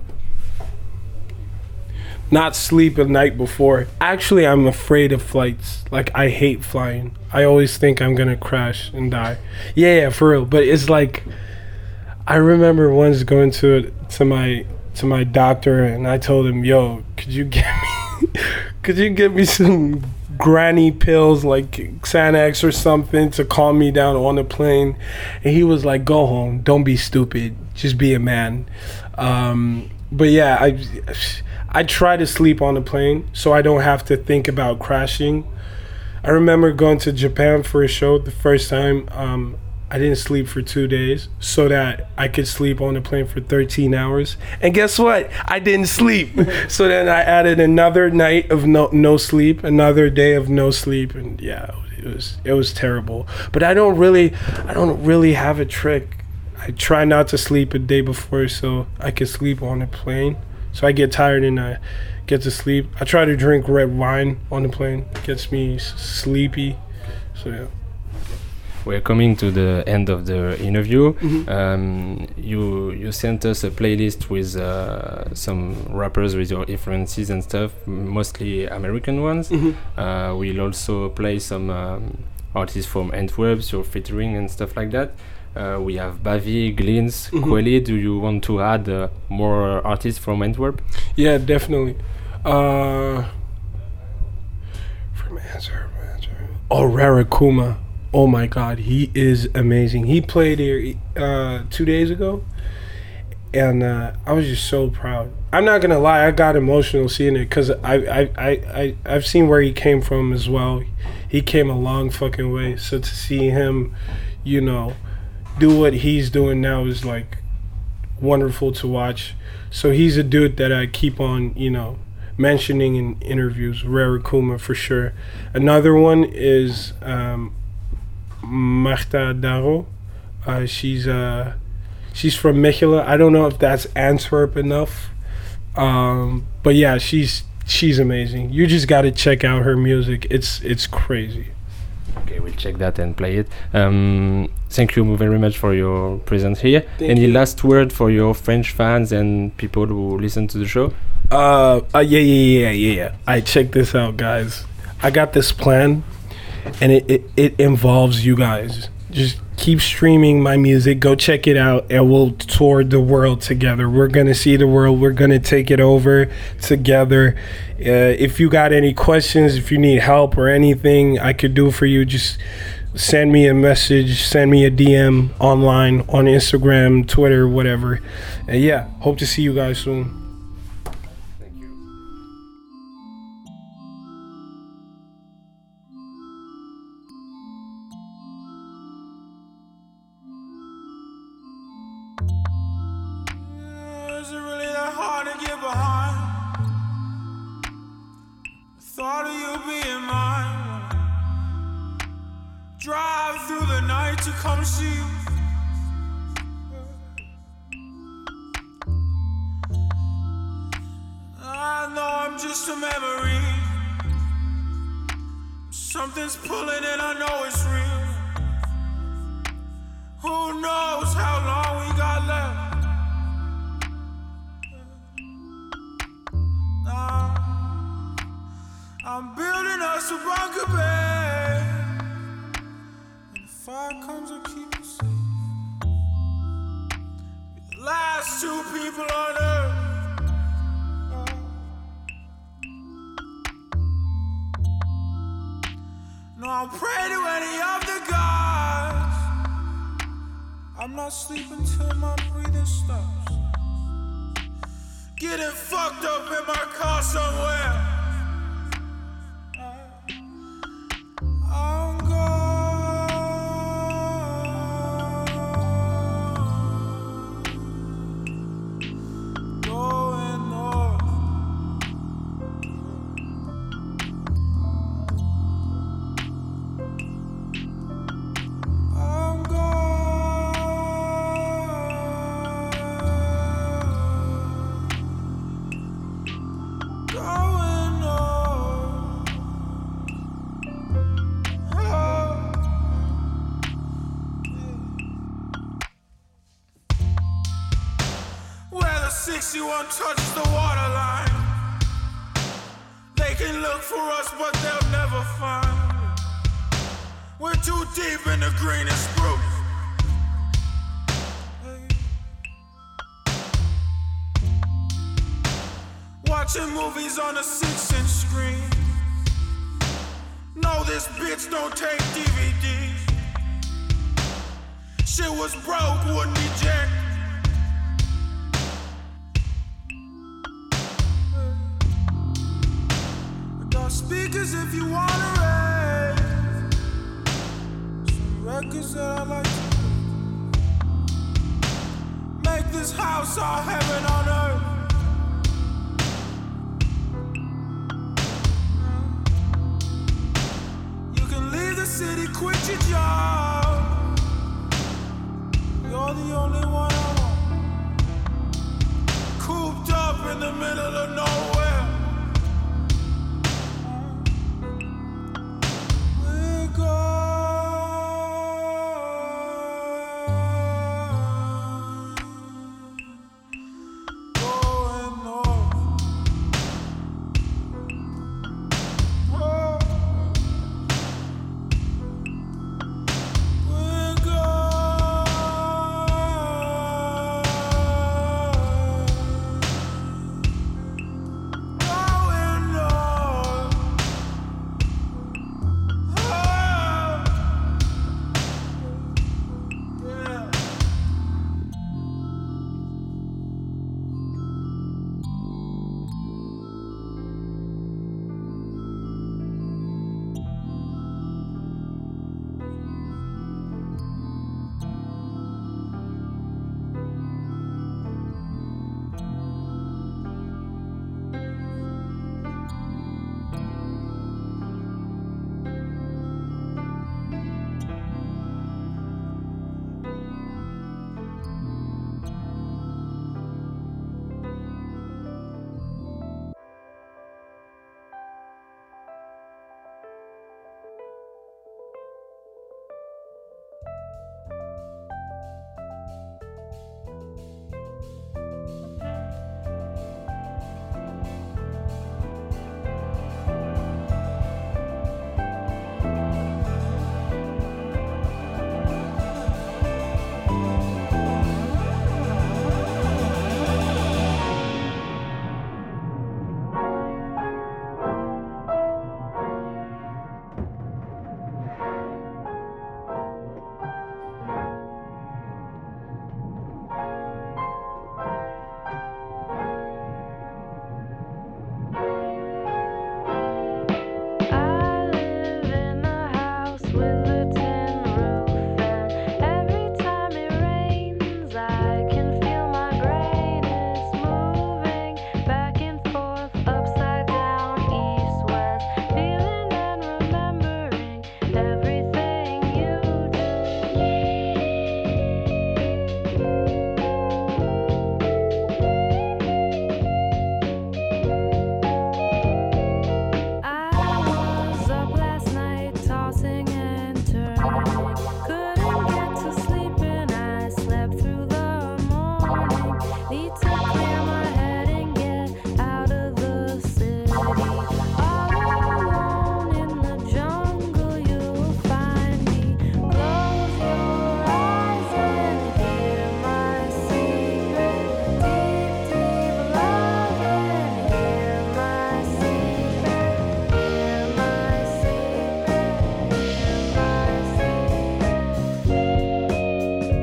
Not sleep the night before. Actually, I'm afraid of flights. Like, I hate flying. I always think I'm gonna crash and die. Yeah, yeah, for real. But it's like, I remember once going to to my to my doctor, and I told him, "Yo, could you get me, could you get me some granny pills like Xanax or something to calm me down on the plane?" And he was like, "Go home. Don't be stupid. Just be a man." Um, but yeah, I I try to sleep on the plane so I don't have to think about crashing. I remember going to Japan for a show the first time. Um, I didn't sleep for two days so that I could sleep on the plane for thirteen hours. And guess what? I didn't sleep. So then I added another night of no no sleep, another day of no sleep, and yeah, it was it was terrible. But I don't really I don't really have a trick. I try not to sleep a day before so I can sleep on the plane. So I get tired and I get to sleep. I try to drink red wine on the plane. It gets me s- sleepy. So yeah. We're coming to the end of the interview. Mhm. Um, you you sent us a playlist with uh, some rappers with your influences and stuff, mostly American ones. Mhm. Uh, we'll also play some um, artists from Antwerp, your featuring and stuff like that. Uh, we have Bavi, Glins, Mhm. Kweli. Do you want to add uh, more artists from Antwerp? Yeah, definitely. Uh, answer, answer. Oh, Rarakuma. Oh my God, he is amazing. He played here uh, two days ago, and uh, I was just so proud. I'm not gonna lie, I got emotional seeing it because I, I, I, I, I've seen where he came from as well. He came a long fucking way. So to see him, you know, do what he's doing now is like wonderful to watch. So he's a dude that I keep on, you know, mentioning in interviews. Rarakuma for sure. Another one is um, Marta Daro. Uh, she's uh, she's from Mechelen. I don't know if that's Antwerp enough, um, but yeah, she's she's amazing. You just got to check out her music. It's it's crazy. Okay, we'll check that and play it. Um, thank you very much for your presence here. Thank Any you. last word for your French fans and people who listen to the show? Uh, uh yeah, yeah, yeah, yeah, yeah. I check this out, guys. I got this plan, and it, it, it involves you guys. Just keep streaming my music. Go check it out, and we'll tour the world together. We're gonna see the world. We're gonna take it over together. Uh, if you got any questions, if you need help or anything I could do for you, just send me a message, send me a D M online on Instagram, Twitter, whatever. And yeah, hope to see you guys soon. Is it really that hard to get behind? Thought of you being mine. Drive through the night to come see you. I know I'm just a memory. Something's pulling and I know it's real. Who knows how long we got left? Now I'm building us a bunker bed. When the fire comes, I'll keep you safe. We're the last two people on earth. No, I'll pray to any of the gods. I'm not sleeping till my breathing stops. Getting fucked up in my car somewhere. I'm gone, going north. I'm gone, going north. Where the sixty-one touches the waterline. They can look for us, but they'll never find. We're too deep in the greenest spruce. Watching movies on a six-inch screen. No, this bitch don't take D V Ds. Shit was broke, wouldn't eject. I got speakers if you wanna raise. Some records that I like to play. Make this house our heaven on earth. You can leave the city, quit your job. You're the only one I want. Cooped up in the middle of nowhere. We're gone, going north. Oh. We're gone. Need to clear my head and get out of the city. All alone in the jungle, you'll find me. Close your eyes and hear my secret. Deep, deep love and hear my secret. Hear my secret. Hear my secret.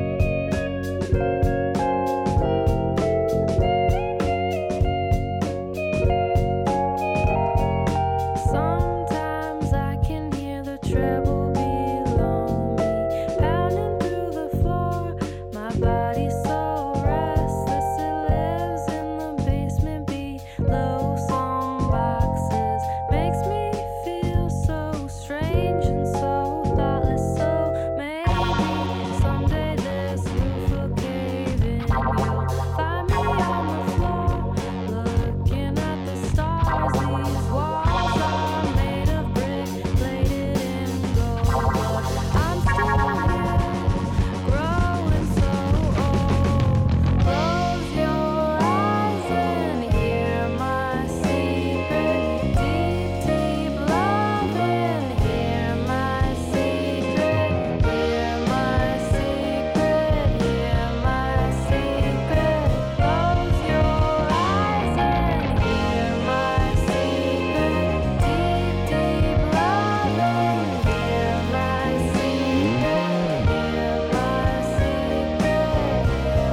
Sometimes I can hear the treble below me, pounding through the floor. My body's so restless, it lives in the basement below. Some boxes makes me feel so strange and so thoughtless. So maybe someday this roof will cave in. You'll find me on the floor, looking at the stars. These walls are made of brick, plated in gold. But I'm still here, growing so old. Close your eyes and hear my secret. Deep, deep love and hear my secret. Hear my secret. Hear my secret. Close your eyes and hear my secret. Deep, deep love and hear my secret. Hear my secret.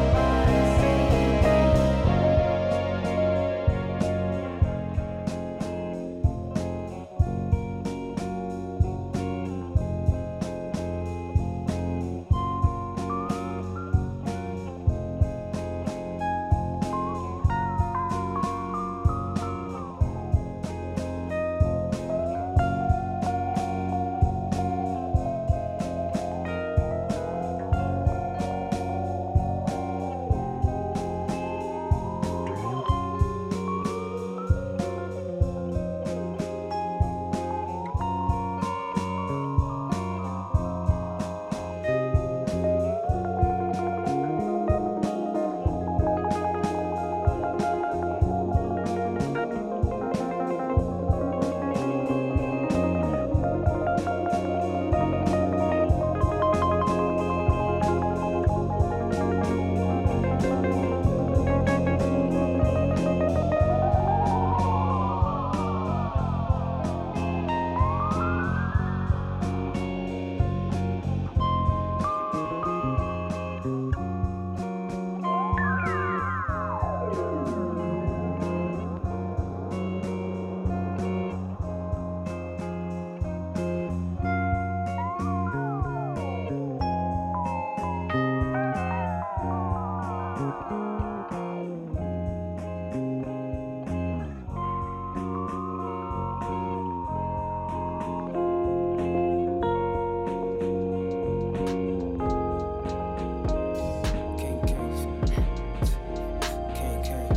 King Kings, King King,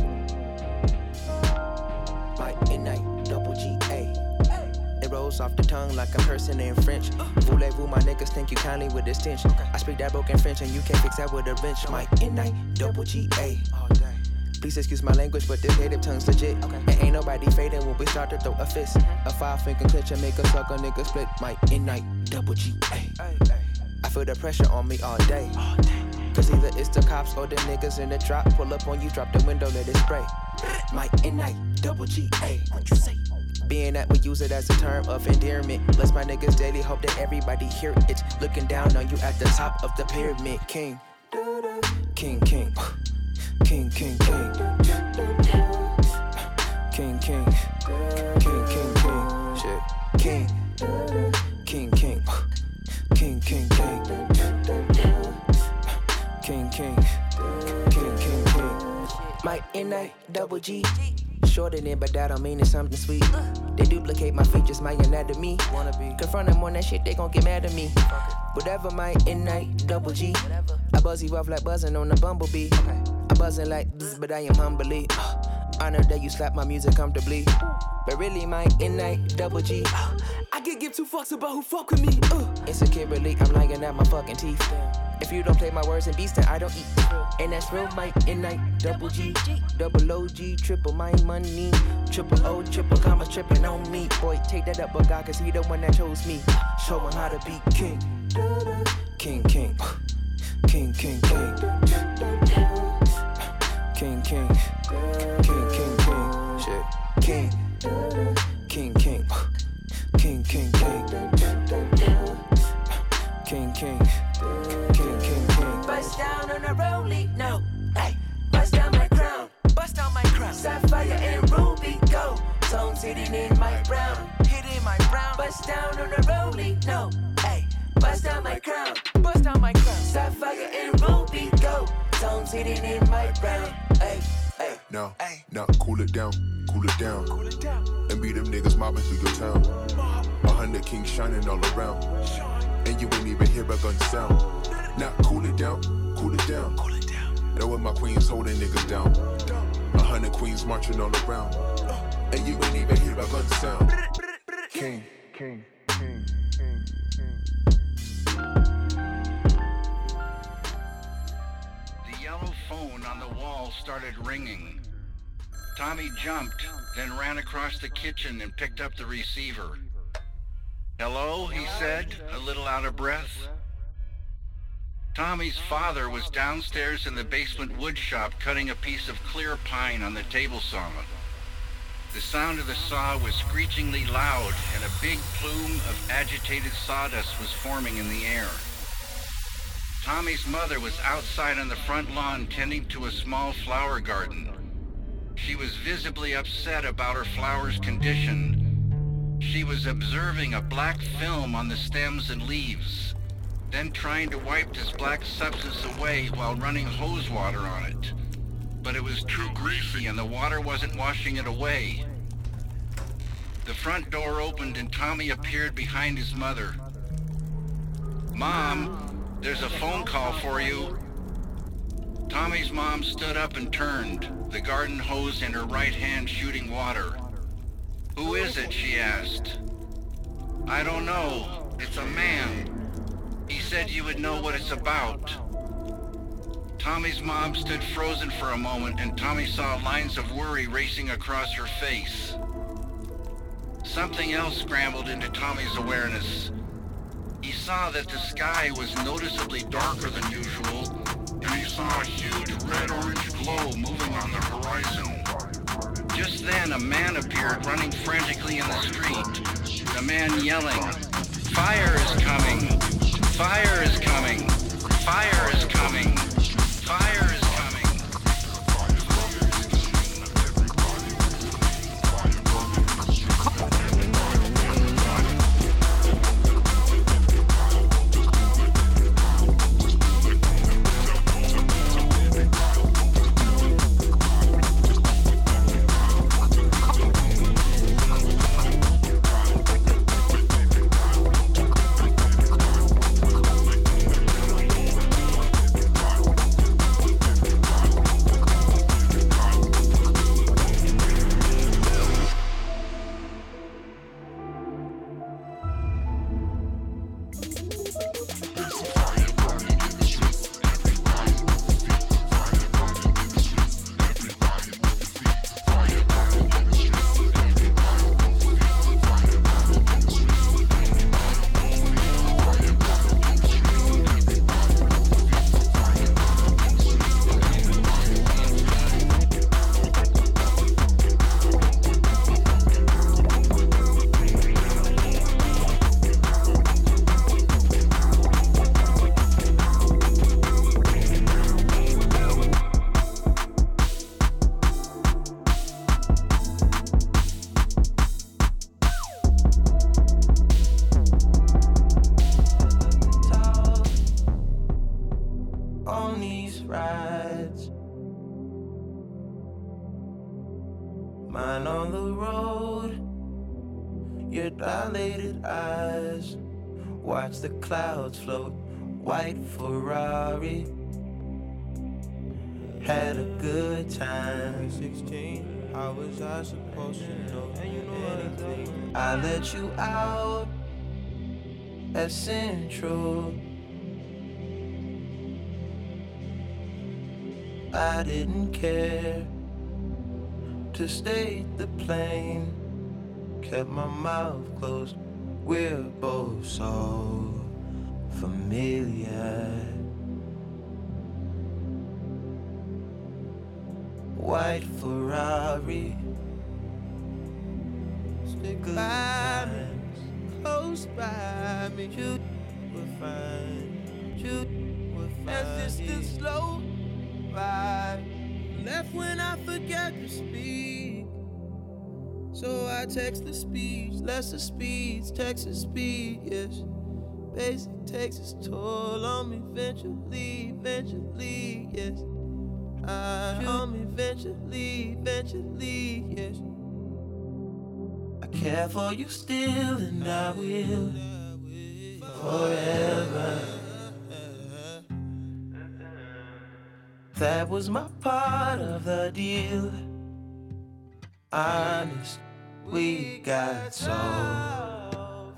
Mike and Night, double G A. It rolls off the tongue like I'm cursing in French. Voulez-vous, my niggas think you kindly with this tension. I speak that broken French and you can't fix that with a wrench. Mike and Night, double G A. Please excuse my language, but this native tongue's legit. And ain't nobody fading when we start to throw a fist. A five finger clinch and make a sucker nigga split. Mike and Night, double G A. I feel the pressure on me all day. Cause either it's the cops or the niggas in the drop. Pull up on you, drop the window, let it spray. Mike and Night, double G A. What you say? Being that we use it as a term of endearment. Bless my niggas daily, hope that everybody hear it. Looking down on you at the top of the pyramid. King, King, King, King, King, King, King, King, King, King, King, shit, King, King, King, King, King, King, King, King, King, King, King. Mike and I, double G. Shorter than, but that don't mean it's something sweet. They duplicate my features, my anatomy. Confront them on that shit, they gon' get mad at me. Whatever, my in night, double G. I buzz you off like buzzing on a bumblebee. I buzzing like bzz, but I am humbly. Uh, honored that you slap my music comfortably. But really, my in night, double G. Uh, I could give two fucks about who fuck with me. Uh. Insecurely, I'm lying at my fucking teeth. If you don't play my words and beats, then I don't eat. And that's real Mike, and night, double G, double O G, triple my money, triple O, triple commas, tripping on me. Boy, take that up, but God, cause he the one that chose me. Show him how to be king. King, king, king, king, king. King, king, king, king, king, shit. King, king, king, king, king, king, king, king, king, king, king. Bust down on a rollie, no, hey. Bust down my crown, bust down my crown. Sapphire and ruby gold, stones hitting in my brown, hitting my brown. Bust down on a rollie, no, hey. Bust down my crown, bust down my crown. Sapphire and ruby gold, stones hitting in my brown, hey. Hey, now, now, cool it down, cool it down, cool it down, and be them niggas mobbing through your town. A hundred kings shining all around, and you ain't even hear a gun sound. Now, cool it down, cool it down, cool it down. Know when my queens holding niggas down. A hundred queens marching all around, and you ain't even hear a gun sound. King, king, king, king, king. Yellow phone on the wall started ringing. Tommy jumped, then ran across the kitchen and picked up the receiver. Hello, he said, a little out of breath. Tommy's father was downstairs in the basement wood shop cutting a piece of clear pine on the table saw. The sound of the saw was screechingly loud, and a big plume of agitated sawdust was forming in the air. Tommy's mother was outside on the front lawn tending to a small flower garden. She was visibly upset about her flower's condition. She was observing a black film on the stems and leaves, then trying to wipe this black substance away while running hose water on it. But it was too greasy and the water wasn't washing it away. The front door opened and Tommy appeared behind his mother. "Mom, there's a phone call for you." Tommy's mom stood up and turned, the garden hose in her right hand shooting water. "Who is it?" she asked. "I don't know. It's a man. He said you would know what it's about." Tommy's mom stood frozen for a moment, and Tommy saw lines of worry racing across her face. Something else scrambled into Tommy's awareness. He saw that the sky was noticeably darker than usual, and he saw a huge red-orange glow moving on the horizon. Just then, a man appeared running frantically in the street. The man yelling, "Fire is coming! Fire is coming! Fire is coming! Fire is coming!" Mine on the road, your dilated eyes. Watch the clouds float, white Ferrari. Had a good time. sixteen, how was I supposed to know anything? I let you out at Central. I didn't care to stay the plane. Kept my mouth closed. We're both so familiar. White Ferrari. Stick by me, close by me. You will find, you will find. As this the slow ride. Left when I forgot to speak. So I text the speech, lesser speeds, Texas speed, yes. Basic takes its toll on me eventually, eventually, yes. I on me eventually, eventually, yes. I care for you still and I will forever. That was my part of the deal. Honest, we got so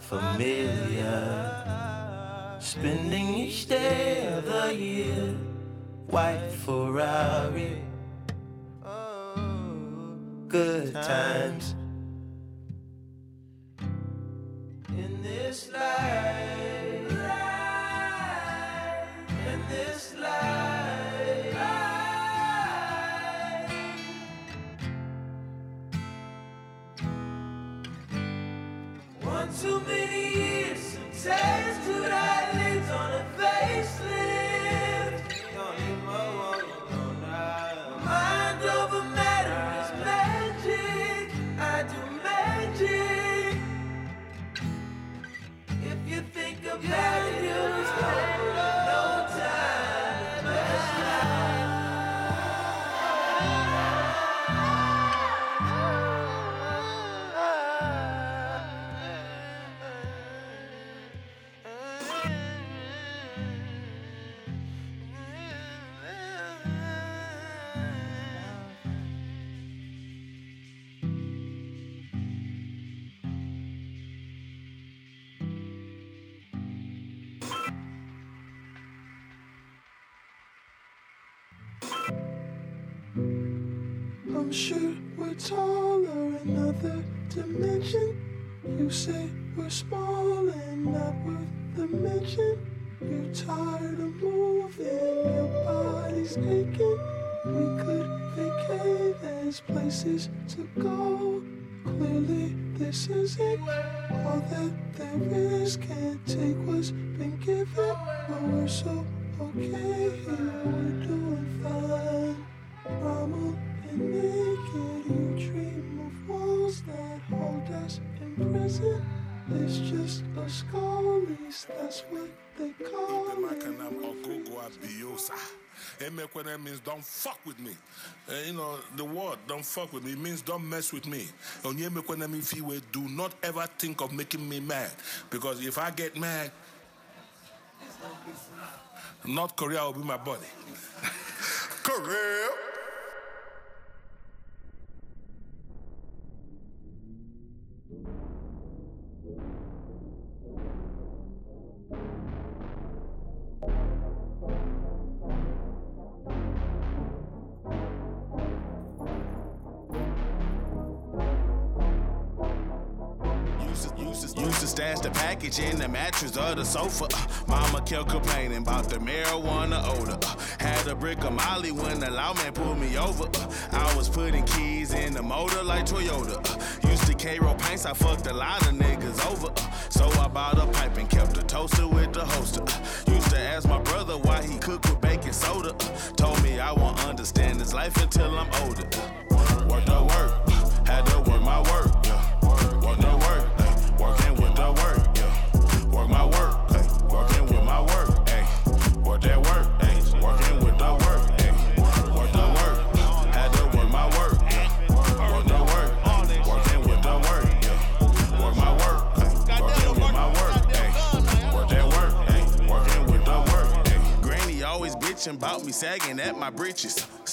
familiar. Spending each day of the year. White Ferrari. Good times. In this life, in this life, one too many years, taste to that lives on a facelift. Mind over matter is magic. I do magic. If you think about it, you'll spend no time. Best I'm sure we're taller in another dimension. You say we're small and not worth the mention. You're tired of moving, your body's aching. We could vacate, there's places to go. Clearly this isn't all that there is. Can't take what's been given, but we're so okay here, we're doing fine. Mama and naked, you dream of walls that hold us in prison. It's just a skull, at least that's what they call it. That means don't fuck with me. Uh, you know, the word don't fuck with me it means don't mess with me. Do not ever think of making me mad. Because if I get mad, North Korea will be my body. Korea! Used to stash the package in the mattress or the sofa. Uh, mama kept complaining about the marijuana odor. Uh, had a brick of Molly when the lawman pulled me over. Uh, I was putting keys in the motor like Toyota. Uh, used to K-roll paints, I fucked a lot of niggas over. Uh, so I bought a pipe and kept a toaster with the holster. Uh, used to ask my brother why he cooked with baking soda. Uh, told me I won't understand this life until I'm older. Uh, work the work, uh, had to work my work. Yeah. Work the work. Working with the work, yeah. Work my work, ay. Working with my work, ay. Work that work, ay. Working with the work, ay. Work the work, had to work my work, yeah. Work the work, ay. Working with the work, yeah. Work my work, ay. Working with my work, ay. Work that work, ay. Working with the work, ay. Granny always bitching about me sagging at my britches.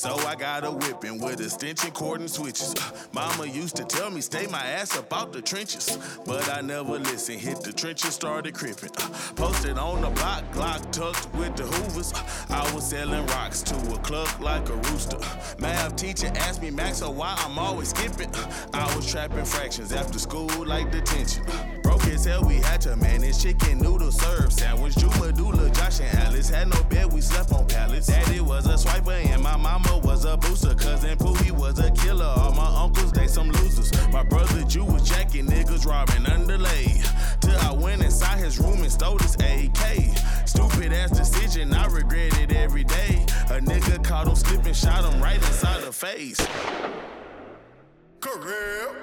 so I got a whipping with extension cord and switches. Uh, mama used to tell me stay my ass up out the trenches, but I never listened. Hit the trenches, started crippin'. Uh, posted on the block, Glock tucked with the Hoovers. Uh, I was selling rocks to a cluck like a rooster. Uh, math teacher asked me, Max, so why I'm always skipping? Uh, I was trapping fractions after school like detention. Uh, broke as hell, we had to manage chicken noodle serve sandwich. Drew Medulla, Josh and Alice had no bed, we slept on pallets. Daddy was a swiper and my mama was a booster. Cousin Poohie was a killer, all my uncles, they some losers. My brother Jew was jacking niggas, robbing underlay. Till I went inside his room and stole his A K. Stupid ass decision, I regret it every day. A nigga caught him slipping, shot him right inside the face. Career.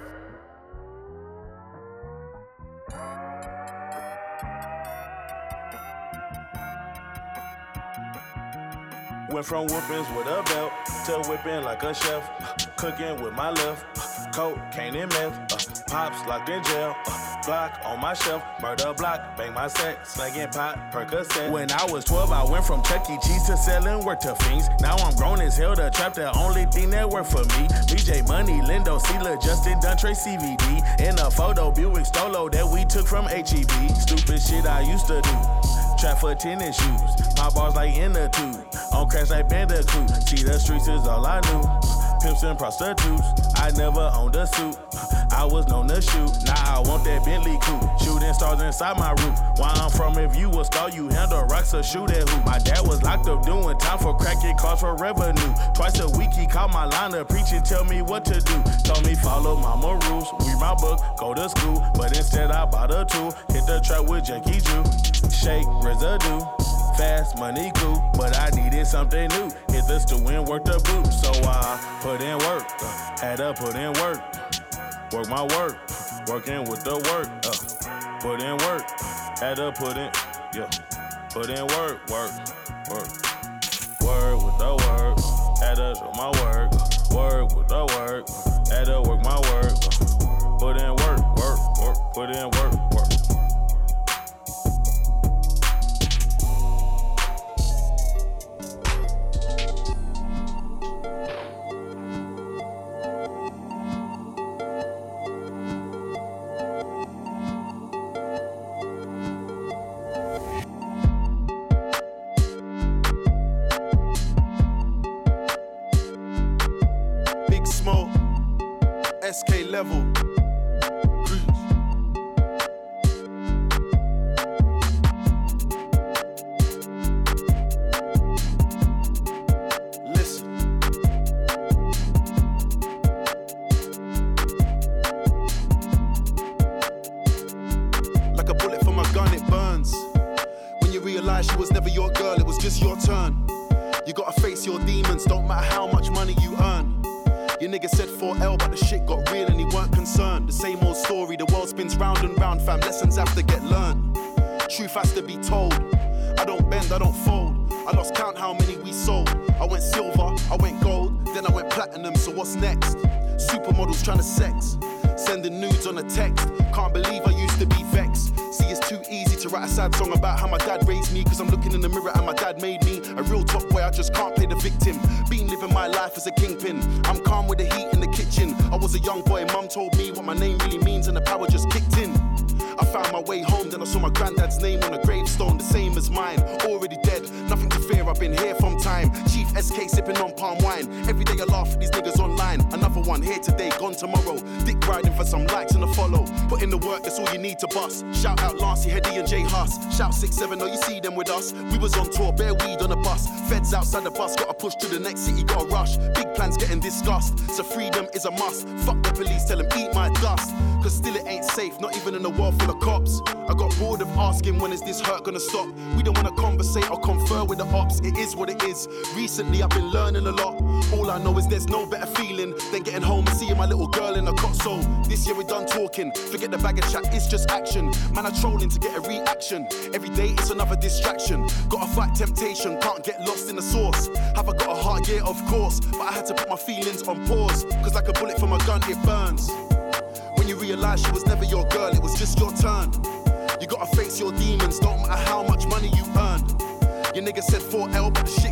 Went from whoopings with a belt to whipping like a chef. Cooking with my left, cocaine and meth. Uh, pops locked in jail, uh, Glock on my shelf. Murder block, bang my set, slanging pot, Percocet. When I was twelve, I went from Chuck E. Cheese to selling work to fiends. Now I'm grown as hell, the trap the only thing that work for me. B J Money, Lindo, Sela, Justin, Duntre, C V D. In a photo, Buick Stolo that we took from H E B. Stupid shit I used to do. Trap for tennis shoes, pop bars like in the tube. On crash like Bandicoot, see the streets is all I knew. Pimps and prostitutes, I never owned a suit. I was known to shoot, now I want that Bentley coupe. Shooting stars inside my roof. Where I'm from, if you a star, you handle rocks or shoot at who. My dad was locked up doing time for cracking cars for revenue. Twice a week he called my line to preach and tell me what to do. Told me follow mama rules, read my book, go to school. But instead I bought a tool, hit the trap with Jackie Jew. Shake residue, fast money cool, but I needed something new. Hit the stew and work the boot, so I put in work, uh, had to put in work. Work my work, working with the work, uh, put in work, had to put in, yeah, put in work, work, work. Work with the work, had to do my work, work with the work, had to work my work, uh, put in work, work, work, put in work, work. S K level. Listen. Like a bullet from a gun, it burns. When you realize she was never your girl, it was just your turn. You gotta face your demons, don't matter how much money you earn. Your nigga said four L, but the shit got real and he weren't concerned. The same old story, the world spins round and round, fam. Lessons have to get learned. Truth has to be told. I don't bend, I don't fold. I lost count how many we sold. I went silver, I went gold, then I went platinum, so what's next? Supermodels trying to sex, sending nudes on a text. Can't believe I used to be vexed. See, it's too easy to write a sad song about how my dad raised me, cause I'm looking in the mirror and my dad made me a real top boy, I just can't play the victim. Been living my life as a kingpin, I'm calm with the heat in the kitchen. I was a young boy, mum told me what my name really means and the power just kicked in. I found my way home, then I saw my granddad's name on a gravestone, the same as mine. Already dead, nothing to fear, I've been here from time. Chief S K sipping on palm wine. Every day I laugh at these niggas online. Another one here today, gone tomorrow. Dick riding for some likes and a follow. Put in the work, that's all you need to bust. Shout out Lancey, Hetty and J Huss. Shout six seven, oh you see them with us. We was on tour, bare weed on a bus. Feds outside the bus, gotta push to the next city, gotta rush. Big plans getting discussed, so freedom is a must. Fuck the police, tell them eat my dust. Cause still it ain't safe, not even in a world full of cops. I got bored of asking when is this hurt gonna stop. We don't wanna conversate or confer with the ops. It is what it is. Recently I've been learning a lot. All I know is there's no better feeling than getting home and seeing my little girl in a cot. So this year we done talking. Forget the bag of chat, it's just action. Man, I'm trolling to get a reaction. Every day it's another distraction. Gotta fight temptation, can't get lost in the source. Have I got a heart? Yeah, of course. But I had to put my feelings on pause. Cause like a bullet from a gun, it burns. When you realize she was never your girl, it was just your turn. You gotta face your demons, don't matter how much money you earn. Your nigga said four L, but the shit